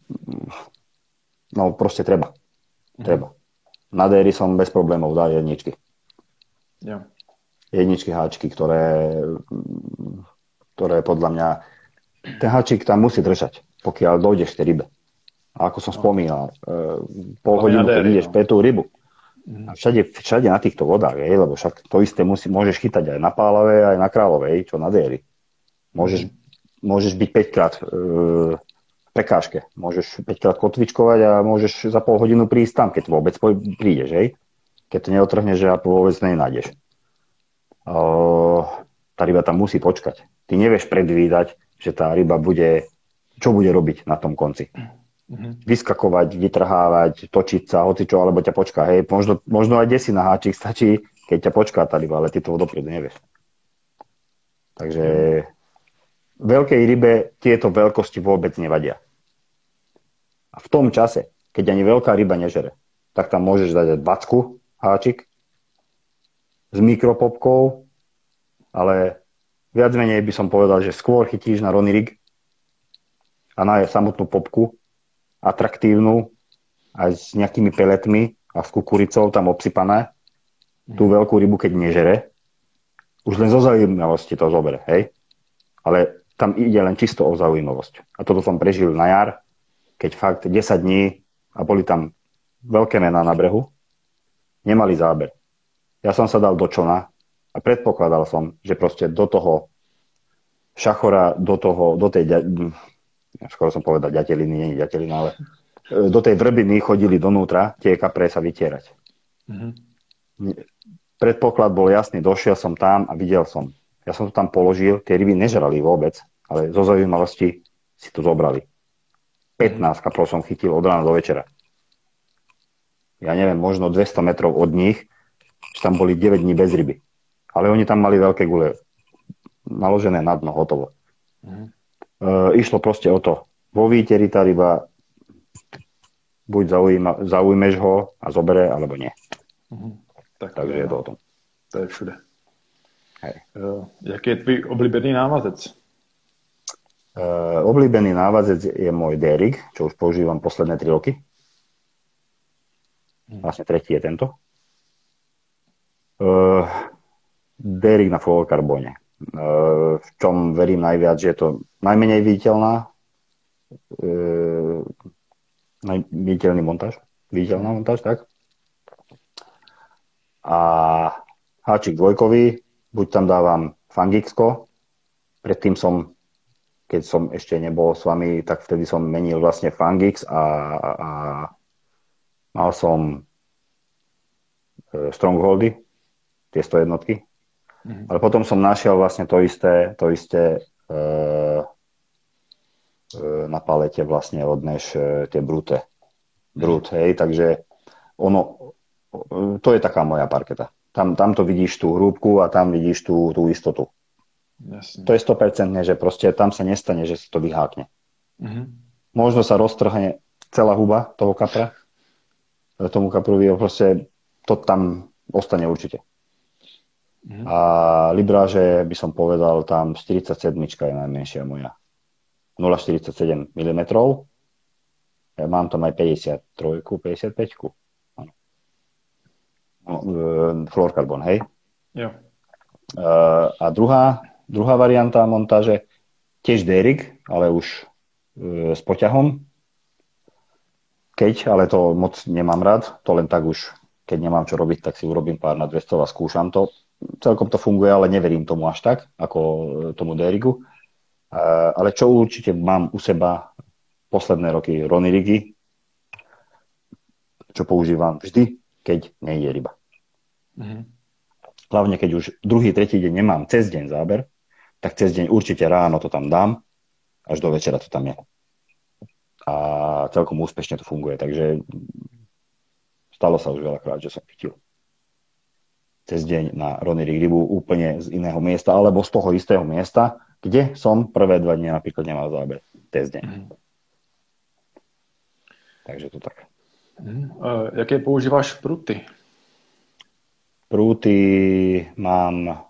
no proste treba. Na déry som bez problémov dal jedničky. Jo. Jedničky, háčky, ktoré podľa mňa ten háčik tam musí držať, pokiaľ dojdeš k tej rybe. A ako som spomínal, pol hodinu, keď ideš pre tú rybu. A všade na týchto vodách, lebo však to isté môžeš chytať aj na Pálavej, aj na Kráľovej, čo na déry. Môžeš byť 5-krát v prekážke. Môžeš 5-krát kotvičkovať a môžeš za pol hodinu prísť tam, keď vôbec prídeš, hej? Keď to neotrhneš, že vôbec nenájdeš. Tá ryba tam musí počkať. Ty nevieš predvídať, že tá ryba čo bude robiť na tom konci. Vyskakovať, vytrhávať, točiť sa, hocičo, alebo ťa počká. Hej? Možno aj desi na háčik stačí, keď ťa počká tá ryba, ale ty to dopredu nevieš. Takže veľkej rybe tieto veľkosti vôbec nevadia. A v tom čase, keď ani veľká ryba nežere, tak tam môžeš dať 20 háčik s mikropopkou, ale viac menej by som povedal, že skôr chytíš na Ronny Rig a na samotnú popku, atraktívnu, aj s nejakými peletmi a s kukuricou tam obsypané tú veľkú rybu, keď nežere, už len zo zaujímavosti to zoberie, hej? Ale tam ide len čisto o zaujímavosť. A toto som prežil na jar, keď fakt 10 dní a boli tam veľké mená na brehu, nemali záber. Ja som sa dal do čona a predpokladal som, že proste do toho šachora, do tej, skoro som povedal ďateliny, nie je ďatelina, ale do tej vrbiny chodili donútra tie kapre sa vytierať. Predpoklad bol jasný, došiel som tam a videl som. Ja som to tam položil, tie ryby nežrali vôbec, ale zo zaujímavosti si to zobrali. 15 kaprov som chytil od rána do večera. Ja neviem, možno 200 metrov od nich, že tam boli 9 dní bez ryby. Ale oni tam mali veľké gule naložené na dno, hotovo. Išlo proste o to. Vo výteri tá ryba buď zaujmeš ho a zobere, alebo nie. Takže je to o tom. To je všude. Hej. Jaký je tvůj oblíbený návazec? Oblíbený návazec je môj Derik, čo už používam posledné 3 roky. Vlastne tretí je tento. Derik na fluorokarbóne. V čom verím najviac, že je to najmenej viditeľná viditeľná montáž, tak? A háčik dvojkový, buď tam dávam Fangixko, predtým keď som ešte nebol s vami, tak vtedy som menil vlastne Fangix a mal som Strongholdy, tie 101. Ale potom som našiel vlastne to isté na palete vlastne od Nash tie Brute, hej, takže to je taká moja parketa. Tam to vidíš tú hrúbku a tam vidíš tú istotu. Jasne. To je 100%, že proste tam sa nestane, že sa to vyhákne. Možno sa roztrhne celá huba toho kapra, tomu kaprovi, proste to tam ostane určite. A libráže by som povedal, tam 47 je najmenšia moja. 0,47 mm. Ja mám tam aj 53, 55. Fluorokarbon, hej? Jo. A druhá varianta montáže, tiež Derik, ale už s poťahom. Ale to moc nemám rád, to len tak už, keď nemám čo robiť, tak si urobím pár na 200 a skúšam to. Celkom to funguje, ale neverím tomu až tak, ako tomu Deriku. Ale čo určite mám u seba posledné roky, Ronny rigy, čo používam vždy, keď nejde ryba. Hlavne, keď už druhý, tretí deň nemám cez deň záber, tak cez deň určite ráno to tam dám, až do večera to tam je. A celkom úspešne to funguje, takže stalo sa už veľakrát, že som chytil cez deň na Ronny rig rybu úplne z iného miesta, alebo z toho istého miesta, kde som prvé 2 dni napríklad nemal záber cez deň. Takže to tak. Jaké používáš prúty? Prúty mám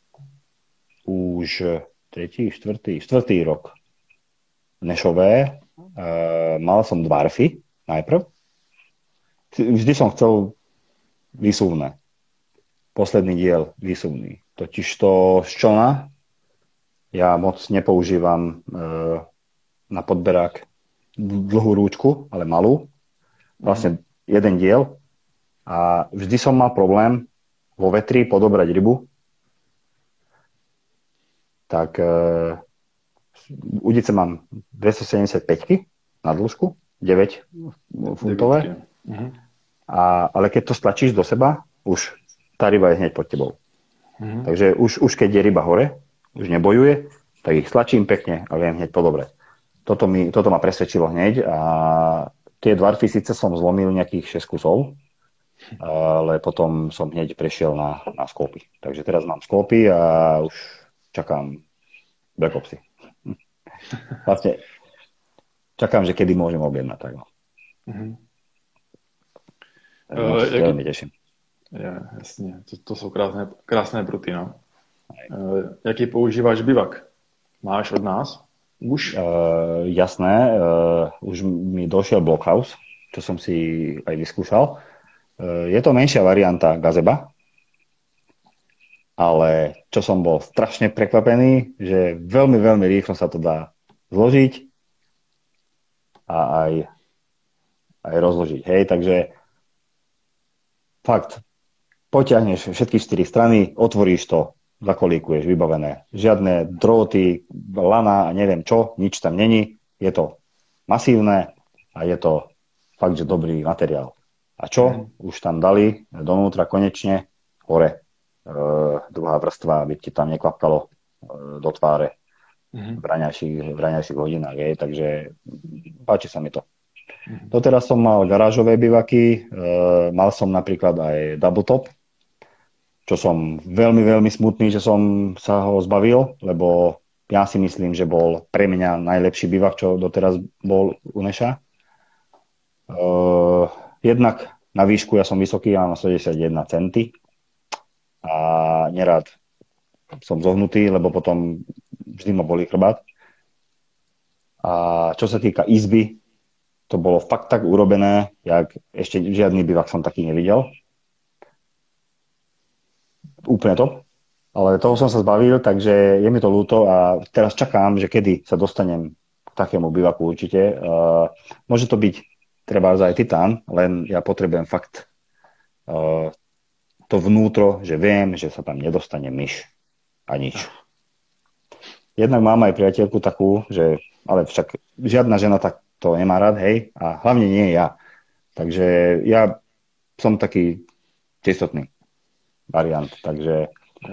už 4. rok. Nešové. Mal som dvarfy najprv. Vždy som chcel výsuvné. Posledný diel výsuvný. Totiž to z člna ja moc nepoužívam na podberák dlhú rúčku, ale malú. Vlastne jeden diel. A vždy som mal problém vo vetri podobrať rybu. Tak udice mám 275 na dĺžku, 9 funtové. Ale keď to stlačíš do seba, už tá ryba je hneď pod tebou. Takže už keď je ryba hore, už nebojuje, tak ich stlačím pekne a viem hneď podobrať. Toto ma presvedčilo hneď a tie dvarfy síce som zlomil nejakých 6 kusov, ale potom som hneď prešiel na skópy. Takže teraz mám skópy a už čakám backopsy. Vlastne čakám, že kedy môžem objednať. Tak no. Veľmi teším. Ja, jasně, to jsou krásné pruty, no. Jaký používáš bivak? Máš od nás? Už? Jasné, už mi došiel Blockhouse, čo som si aj vyskúšal. Je to menšia varianta gazeba, ale čo som bol strašne prekvapený, že veľmi, veľmi rýchlo sa to dá zložiť a aj rozložiť. Hej, takže fakt, potiahneš všetky 4 strany, otvoríš to, zakolíkuješ, vybavené. Žiadne dróty, lana a neviem čo, nič tam není. Je to masívne a je to fakt, že dobrý materiál. A čo? Už tam dali donútra konečne hore druhá vrstva, aby ti tam nekvapkalo do tváre v raňajších hodinách. Takže páči sa mi to. Doteraz som mal garážové bivaky, mal som napríklad aj double top, čo som veľmi, veľmi smutný, že som sa ho zbavil, lebo ja si myslím, že bol pre mňa najlepší bivak, čo doteraz bol u Neša. Jednak na výšku ja som vysoký, ja mám 71 cm a nerád som zohnutý, lebo potom vždy ma bolí chrbát. A čo sa týka izby, to bolo fakt tak urobené, jak ešte žiadny bivak som taký nevidel. Úplne to. Ale toho som sa zbavil, takže je mi to ľúto a teraz čakám, že kedy sa dostanem k takému bivaku určite. Môže to byť treba aj titán, len ja potrebujem fakt to vnútro, že viem, že sa tam nedostane myš a nič. Jednak mám aj priateľku takú, že ale však žiadna žena tak to nemá rád, hej, a hlavne nie ja. Takže ja som taký čistotný variant, takže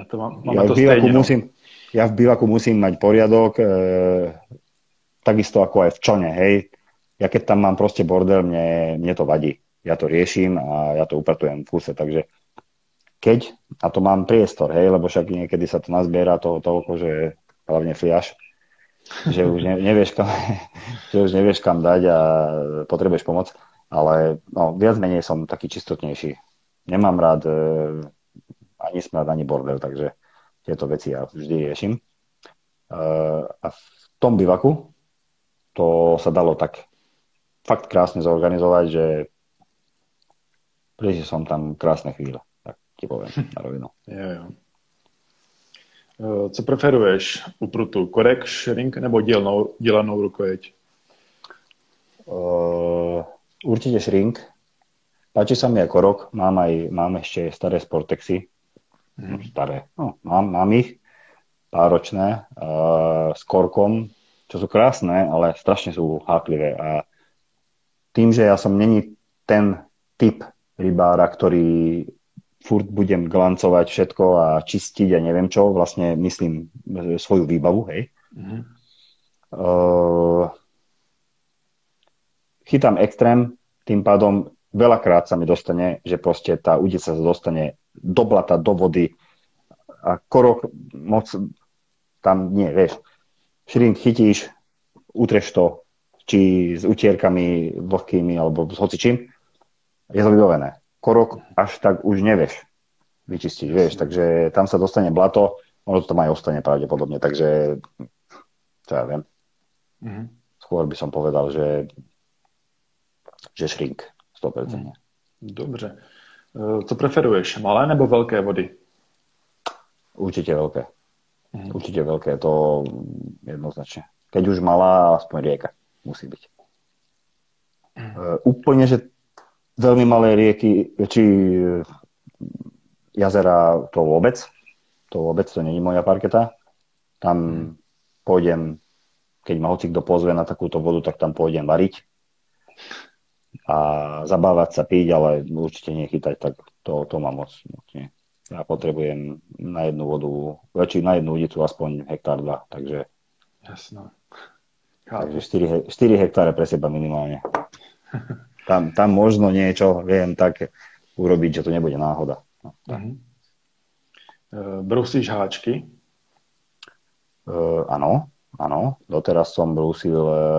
ja v bivaku musím mať poriadok, takisto ako aj v člne, hej. Ja keď tam mám proste bordel, mne to vadí. Ja to riešim a ja to upratujem v kuse, takže keď, a to mám priestor, hej, lebo však niekedy sa to nazbiera toľko, že hlavne fliaš, že už nevieš kam dať a potrebuješ pomoc, ale no, viac menej som taký čistotnejší. Nemám rád ani smrad, ani bordel, takže tieto veci ja vždy riešim. A v tom bivaku to sa dalo tak fakt krásne zorganizovať, že prežil som tam krásne chvíle, tak ti poviem na rovinu. Jo. Co preferuješ u prutu? Korek, shrink nebo dělanou rukojeť? Určite shrink. Páči sa mi aj korok. Mám ešte staré Sportexy. Staré. No, mám ich. Páročné. S korkom, čo sú krásne, ale strašne sú háklivé. A tým, že ja som není ten typ rybára, ktorý furt budem glancovať všetko a čistiť a neviem čo, vlastne myslím svoju výbavu, hej. Chytám extrém, tým pádom veľakrát sa mi dostane, že proste tá udica sa dostane do blata, do vody a korok moc tam nie, vieš. Shrink chytíš, utreš to, či s utierkami vlhkými alebo s hocičím, je to vybavené. Korok až tak už nevieš vyčistiť, vieš, takže tam sa dostane blato, ono to tam aj ostane pravdepodobne, takže čo ja viem. Skôr by som povedal, že shrink 100%. Dobře. Co preferuješ, malé nebo velké vody? Určite veľké. Určite veľké, to jednoznačne. Keď už malá, aspoň rieka musí byť. Úplne, že veľmi malé rieky, či jazera, to vôbec, to není moja parketa. Tam pôjdem, keď ma hoci kto pozve na takúto vodu, tak tam pôjdem variť a zabávať sa, piť, ale určite nechytať, tak to mám moc nie. Ja potrebujem na jednu vodu, na jednu udicu aspoň 1-2 hektár, takže jasno. Takže 4 hektáre pre seba minimálne. Tam možno niečo viem tak urobiť, že to nebude náhoda. No, Brousíš háčky? Áno. Doteraz som brúsil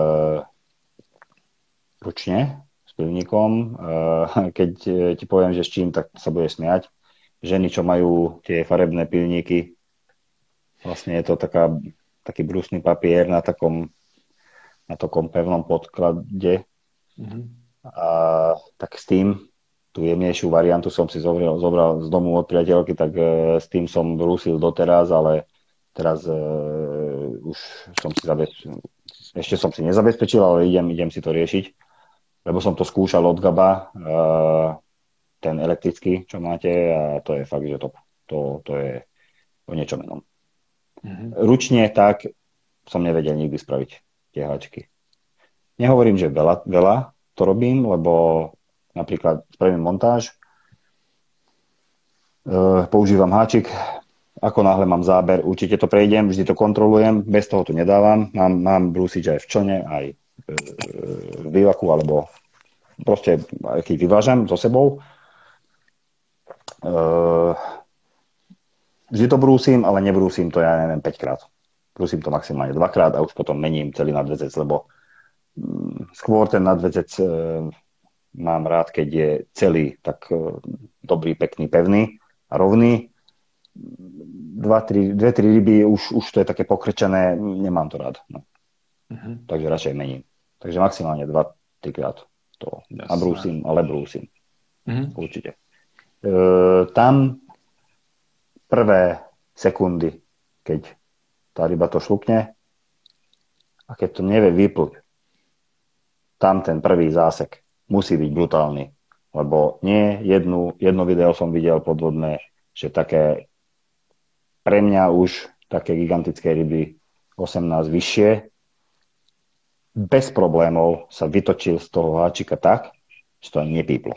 ručne s pivníkom. Keď ti poviem, že s čím, tak sa budeš smiať. Ženy, čo majú tie farebné pivníky, vlastne je to taký brúsny papier na takom pevnom podklade. A tak s tým tú jemnejšiu variantu som si zobral z domu od priateľky, tak s tým som brúsil doteraz, ale teraz už som si ešte som si nezabezpečil, ale idem si to riešiť, lebo som to skúšal od Gaba, ten elektrický, čo máte, a to je fakt, že top. To je o niečom inom. Ručne tak som nevedel nikdy spraviť tie háčky. Nehovorím, že veľa to robím, lebo napríklad spravím montáž, používam háčik, ako náhle mám záber, určite to prejdem, vždy to kontrolujem, bez toho to nedávam. Mám brúsič aj v člne, aj v bivaku, alebo proste, keď vyvážam so sebou. Vždy to brúsim, ale nebrúsim to, ja neviem, 5 krát. Brúsim to maximálne 2 krát a už potom mením celý nadväzec, lebo skôr ten nadväzec mám rád, keď je celý tak dobrý, pekný, pevný a rovný. 2-3 ryby, už to je také pokrčené, nemám to rád. No. Takže radšej mením. Takže maximálne 2-3 krát to nabrúsim, ale brúsim. Určite. Tam prvé sekundy, keď tá ryba to šlukne a keď to nevie vypluť, tam ten prvý zásek musí byť brutálny. Lebo nie jedno video som videl podvodné, že také pre mňa už také gigantické ryby 18 vyššie bez problémov sa vytočil z toho háčika tak, že to ani nepíplo.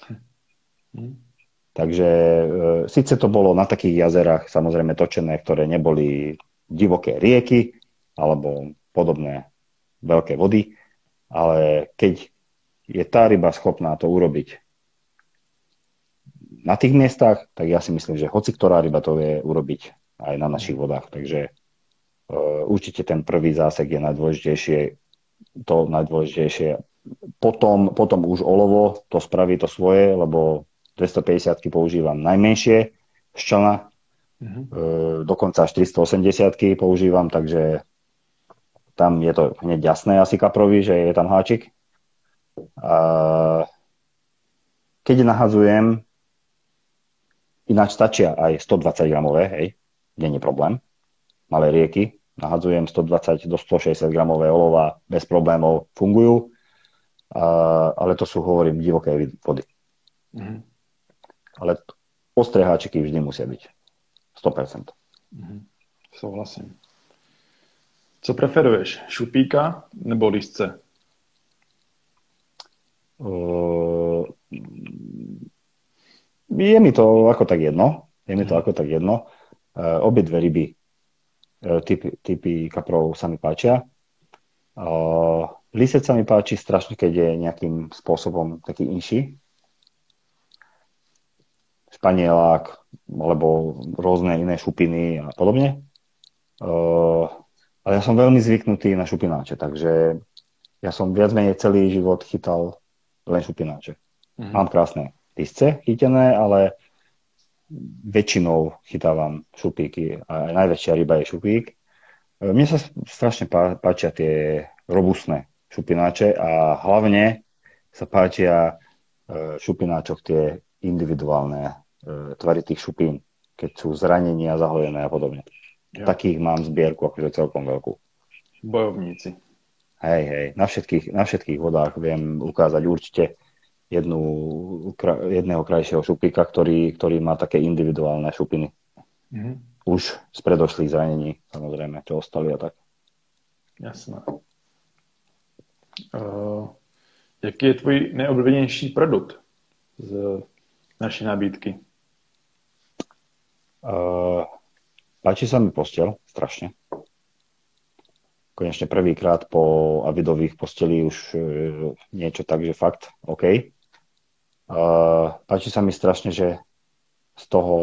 Takže síce to bolo na takých jazerách samozrejme točené, ktoré neboli divoké rieky alebo podobné veľké vody, ale keď je tá ryba schopná to urobiť na tých miestach, tak ja si myslím, že hoci ktorá ryba to vie urobiť aj na našich vodách. Takže určite ten prvý zásek je najdôležitejšie. Potom už olovo to spraví to svoje, lebo 250-ky používam najmenšie z člna, dokonca až 480-ky používam, takže tam je to hneď jasné asi kaprovi, že je tam háčik. A keď nahadzujem, ináč stačia aj 120 gramové, hej, nie je problém. Malé rieky, nahadzujem 120 do 160 gramové olova, bez problémov fungujú, ale to sú, hovorím, divoké vody. Ale ostré háčiky vždy musia byť. 100%. Souhlasím. Co preferuješ? Šupíka nebo lísce? Je mi to ako tak jedno. Obidve ryby, typy kaprov sa mi páčia. Lísec sa mi páči strašne, keď je nejakým spôsobom taký inší. Španielák, alebo rôzne iné šupiny a podobne. Ale ja som veľmi zvyknutý na šupináče, takže ja som viac menej celý život chytal len šupináče. Mám krásne lísce chytené, ale väčšinou chytávam šupíky a najväčšia ryba je šupík. Mne sa strašne páčia tie robustné šupináče a hlavne sa páčia šupináčok tie individuálne tvary tých šupín, keď sú zranenia, zahojené a podobne. Jo. Takých mám zbierku akože celkom veľkú. Bojovníci. Hej, na všetkých vodách viem ukázať určite jedného krajšieho šupíka, ktorý má také individuálne šupiny. Už z predošlých zranení, samozrejme, čo ostali a tak. Jasné. Jaký je tvůj nejoblíbenější produkt z naší nabídky? Páči sa mi posteľ, strašne. Konečne prvýkrát po Avidových postelí už niečo tak, že fakt, OK. Páči sa mi strašne, že z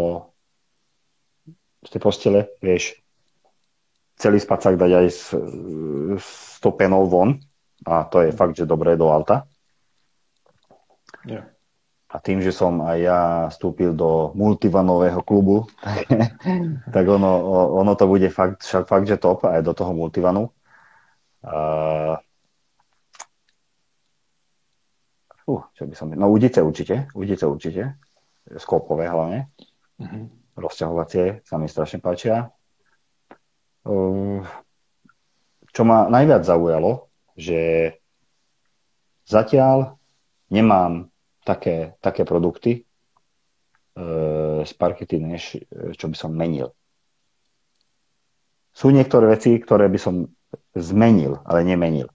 tej postele vieš celý spacák dať aj s tou penou von a to je fakt, že dobré do auta. Yeah. A tým, že som aj ja vstúpil do multivanového klubu, tak ono to bude fakt, že top aj do toho multivanu. Čo by som... No udice určite. Skopové hlavne. Rozťahovacie sa mi strašne páčia. Čo ma najviac zaujalo, že zatiaľ nemám také produkty z Parkety, než čo by som menil. Sú niektoré veci, ktoré by som zmenil, ale nemenil.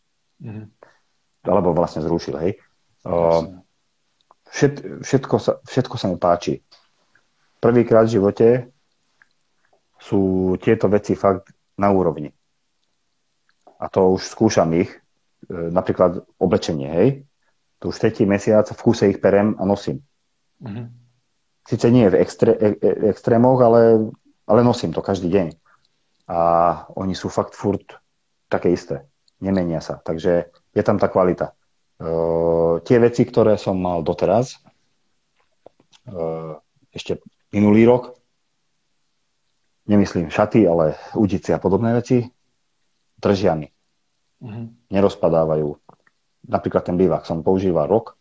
Alebo vlastne zrušil, hej. Všetko sa mi páči. Prvýkrát v živote sú tieto veci fakt na úrovni. A to už skúšam ich. Napríklad oblečenie, hej. Tu už 3. mesiac v kuse ich perem a nosím. Sice nie v extrémoch, ale nosím to každý deň. A oni sú fakt furt také isté. Nemenia sa. Takže je tam tá kvalita. Tie veci, ktoré som mal doteraz, ešte minulý rok, nemyslím šaty, ale udice a podobné veci, držia mi. Nerozpadávajú. Napríklad ten bivák som používal rok.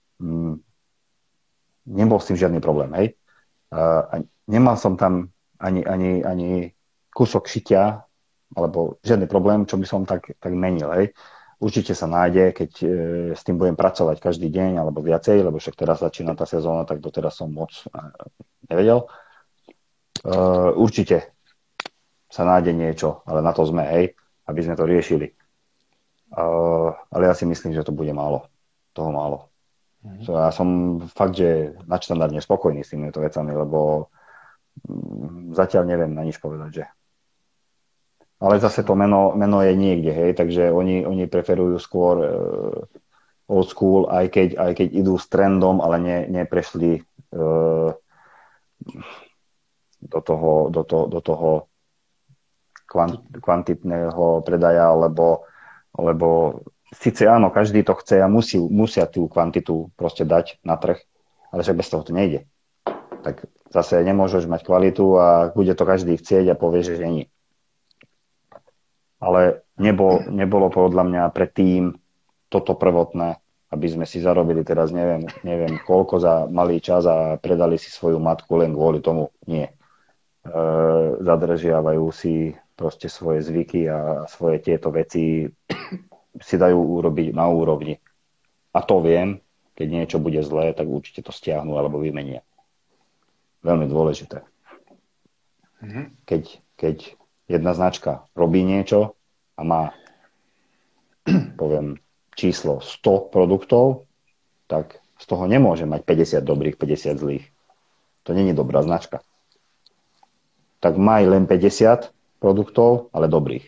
Nebol s tým žiadny problém, hej. Nemal som tam ani kúsok šitia, alebo žiadny problém, čo by som tak menil, hej. Určite sa nájde, keď s tým budem pracovať každý deň, alebo viacej, lebo však teraz začína tá sezóna, tak doteraz som moc nevedel. Určite sa nájde niečo, ale na to sme, hej, aby sme to riešili. Ale ja si myslím, že to bude málo. Toho málo. Ja som fakt, že nadštandardne spokojný s týmito vecami, lebo zatiaľ neviem na nič povedať, že. Ale zase to meno je niekde, hej, takže oni preferujú skôr old school, aj keď idú s trendom, ale neprešli do toho kvantitného predaja, lebo síce áno, každý to chce a musia tú kvantitu proste dať na trh, ale však bez toho to nejde. Tak zase nemôžeš mať kvalitu a bude to každý chcieť a povie, že nie. Ale nebolo podľa mňa predtým toto prvotné, aby sme si zarobili teraz neviem koľko za malý čas a predali si svoju matku len kvôli tomu. Nie. Zadržiavajú si proste svoje zvyky a svoje tieto veci si dajú urobiť na úrovni. A to viem, keď niečo bude zlé, tak určite to stiahnu alebo vymenia. Veľmi dôležité. Keď jedna značka robí niečo a má, poviem, číslo 100 produktov, tak z toho nemôže mať 50 dobrých, 50 zlých. To nie je dobrá značka. Tak maj len 50 produktov, ale dobrých.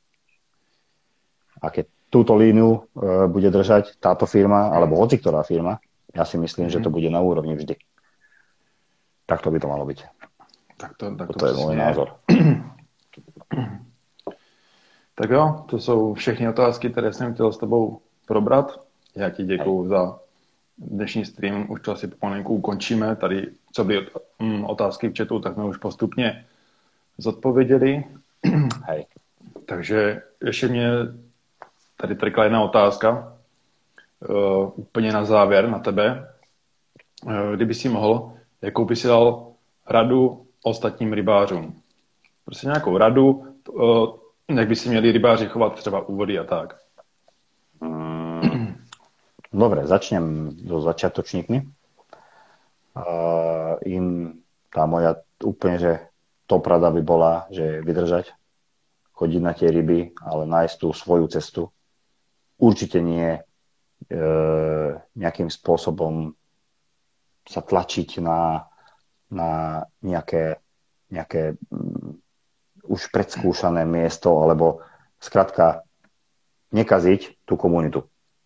A keď túto líniu bude držať táto firma, alebo hoci ktorá firma, ja si myslím, že to bude na úrovni vždy. Tak to by to malo byť. To je môj názor. Tak jo, to jsou všechny otázky, které jsem chtěl s tebou probrat. Já ti děkuju za dnešní stream. Už to asi pomalinku ukončíme. Tady, co by otázky v chatu, tak jsme už postupně zodpověděli. Hej. Takže ještě mě tady trkla jedna otázka. Úplně na závěr na tebe. Kdyby si mohl, jakou by si dal radu ostatním rybářům? Prostě nějakou radu, jak by si měli rybáři chovat třeba u vody a tak. Dobre, začnem so začiatočníkmi. Im tá moja úplne, že top rada by bola, že vydržať, chodiť na tie ryby, ale nájsť tú svoju cestu. Určite nie nejakým spôsobom sa tlačiť na nejaké už predskúšané miesto, alebo skrátka nekaziť tú komunitu.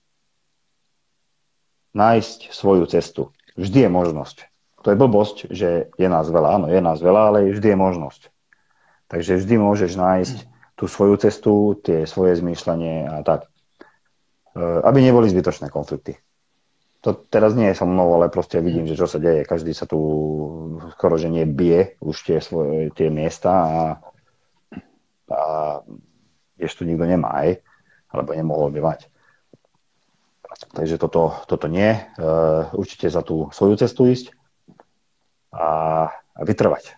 Nájsť svoju cestu. Vždy je možnosť. To je blbosť, že je nás veľa. Áno, je nás veľa, ale vždy je možnosť. Takže vždy môžeš nájsť tú svoju cestu, tie svoje zmýšľanie a tak. Aby neboli zbytočné konflikty. To teraz nie je so mnou, ale proste vidím, že čo sa deje. Každý sa tu skoro, že nebije už tie miesta a ešte tu nikto nemá, alebo nemohol by mať. Takže toto nie. Určite za tú svoju cestu ísť a vytrvať.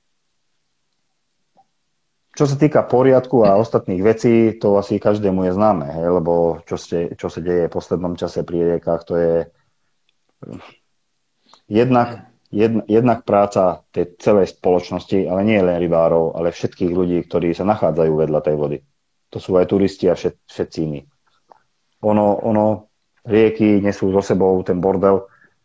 Čo sa týka poriadku a ostatných vecí, to asi každému je známe, hej, lebo čo sa deje v poslednom čase pri riekach, to je jednak práca tej celej spoločnosti, ale nie len rybárov, ale všetkých ľudí, ktorí sa nachádzajú vedľa tej vody. To sú aj turisti a všetci iní. Rieky nesú so sebou ten bordel.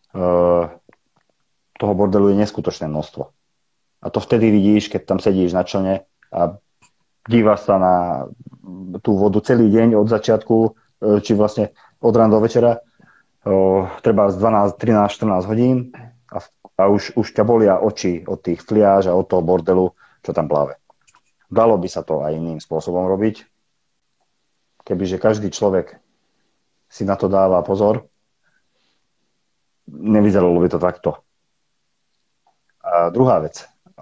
Toho bordelu je neskutočné množstvo. A to vtedy vidíš, keď tam sedíš na člne a dívaš sa na tú vodu celý deň od začiatku, či vlastne od rána do večera, treba z 12, 13, 14 hodín a už ťa bolia oči od tých fliáž a od toho bordelu, čo tam pláve. Dalo by sa to aj iným spôsobom robiť, kebyže každý človek si na to dáva pozor, nevyzeralo by to takto. A druhá vec,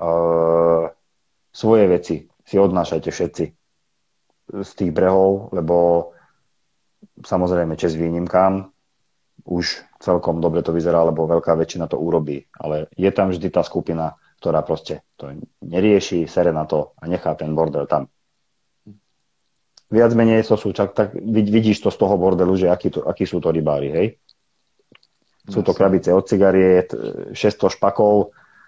svoje veci si odnášajte všetci z tých brehov, lebo samozrejme česť výnimkám, už celkom dobre to vyzerá, lebo veľká väčšina to urobí, ale je tam vždy tá skupina, ktorá proste to nerieši, sere na to a nechá ten bordel tam. Viac menej to sú, tak vidíš to z toho bordelu, že akí sú to rybári, hej? Sú to krabice od cigariet, 600 špakov,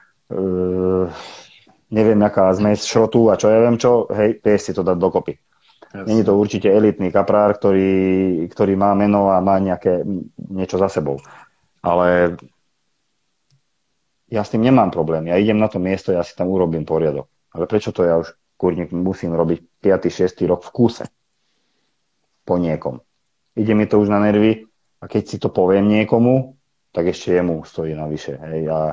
neviem, aká zmes šrotu a čo ja viem čo, hej, vieš si to dať dokopy. Není to určite elitný kaprár, ktorý má meno a má niečo za sebou. Ale ja s tým nemám problém. Ja idem na to miesto, ja si tam urobím poriadok. Ale prečo to ja už, kurník, musím robiť 5. 6. rok v kúse? Po niekom. Ide mi to už na nervy a keď si to poviem niekomu, tak ešte jemu stojí navyše. Hej. A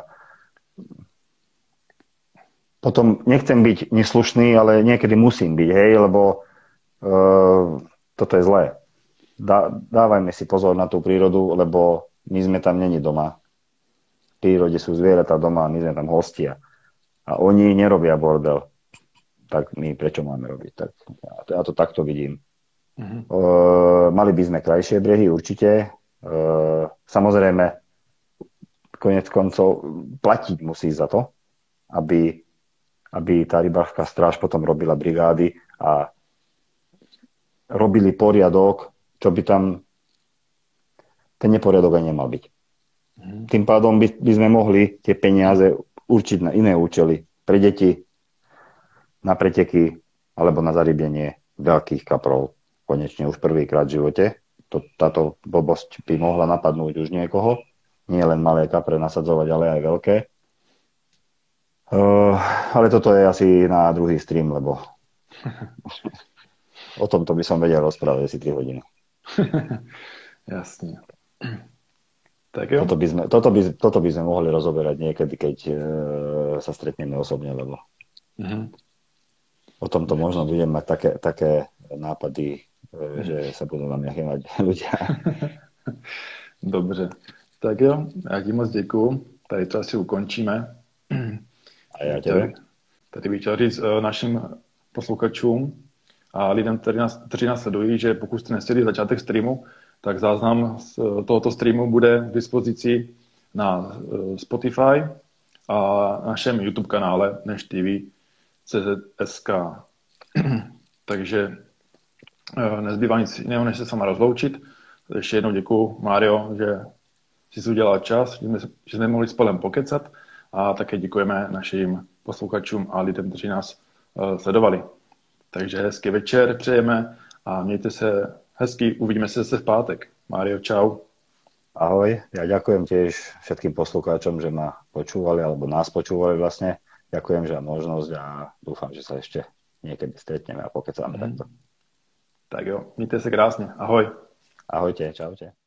potom nechcem byť neslušný, ale niekedy musím byť, hej, lebo toto je zlé. Dávajme si pozor na tú prírodu, lebo my sme tam není doma. V prírode sú zvieratá doma, my sme tam hostia. A oni nerobia bordel. Tak my prečo máme robiť? Tak, ja to takto vidím. Mali by sme krajšie brehy, určite. Samozrejme, koniec koncov platiť musí za to, aby tá rybárska stráž potom robila brigády a robili poriadok, čo by tam ten neporiadok aj nemal byť. Tým pádom by sme mohli tie peniaze určiť na iné účely. Pre deti, na preteky alebo na zarybenie veľkých kaprov. Konečne už prvýkrát v živote. Táto blbosť by mohla napadnúť už niekoho. Nie len malé kapre nasadzovať, ale aj veľké. Ale toto je asi na druhý stream, lebo o tomto by som vedel rozprávať asi 3 hodiny. Jasne. Tak jo. Toto by sme mohli rozoberať niekedy, keď sa stretneme osobne, lebo o tomto možno budem mať také nápady, že sa budú na mňa chýmať ľudia. Dobře. Tak jo, já ti moc děkuju. Tady to asi ukončíme. A já tebe. Tady bych chtěl říct našim posluchačům a lidem, kteří nás sledují, že pokud jste nestihli začátek streamu, tak záznam z tohoto streamu bude k dispozici na Spotify a našem YouTube kanále Neš TV CZSK. Takže nezbývá nic jiného, než se sama rozloučit. Ještě jednou děkuju, Mário, že jsi udělal čas, že jsme mohli spolem pokecat a také děkujeme našim posluchačům a lidem, kteří nás sledovali. Takže hezký večer přejeme a mějte se hezky, uvidíme se zase v pátek. Mário, čau. Ahoj, ja ďakujem tiež všetkým poslucháčom, že ma počúvali, alebo nás počúvali vlastne. Ďakujem za možnosť a dúfam, že sa ešte niekedy stretneme a pokecáme takto. Tak jo, mějte se krásně. Ahoj. Ahojte, čaute.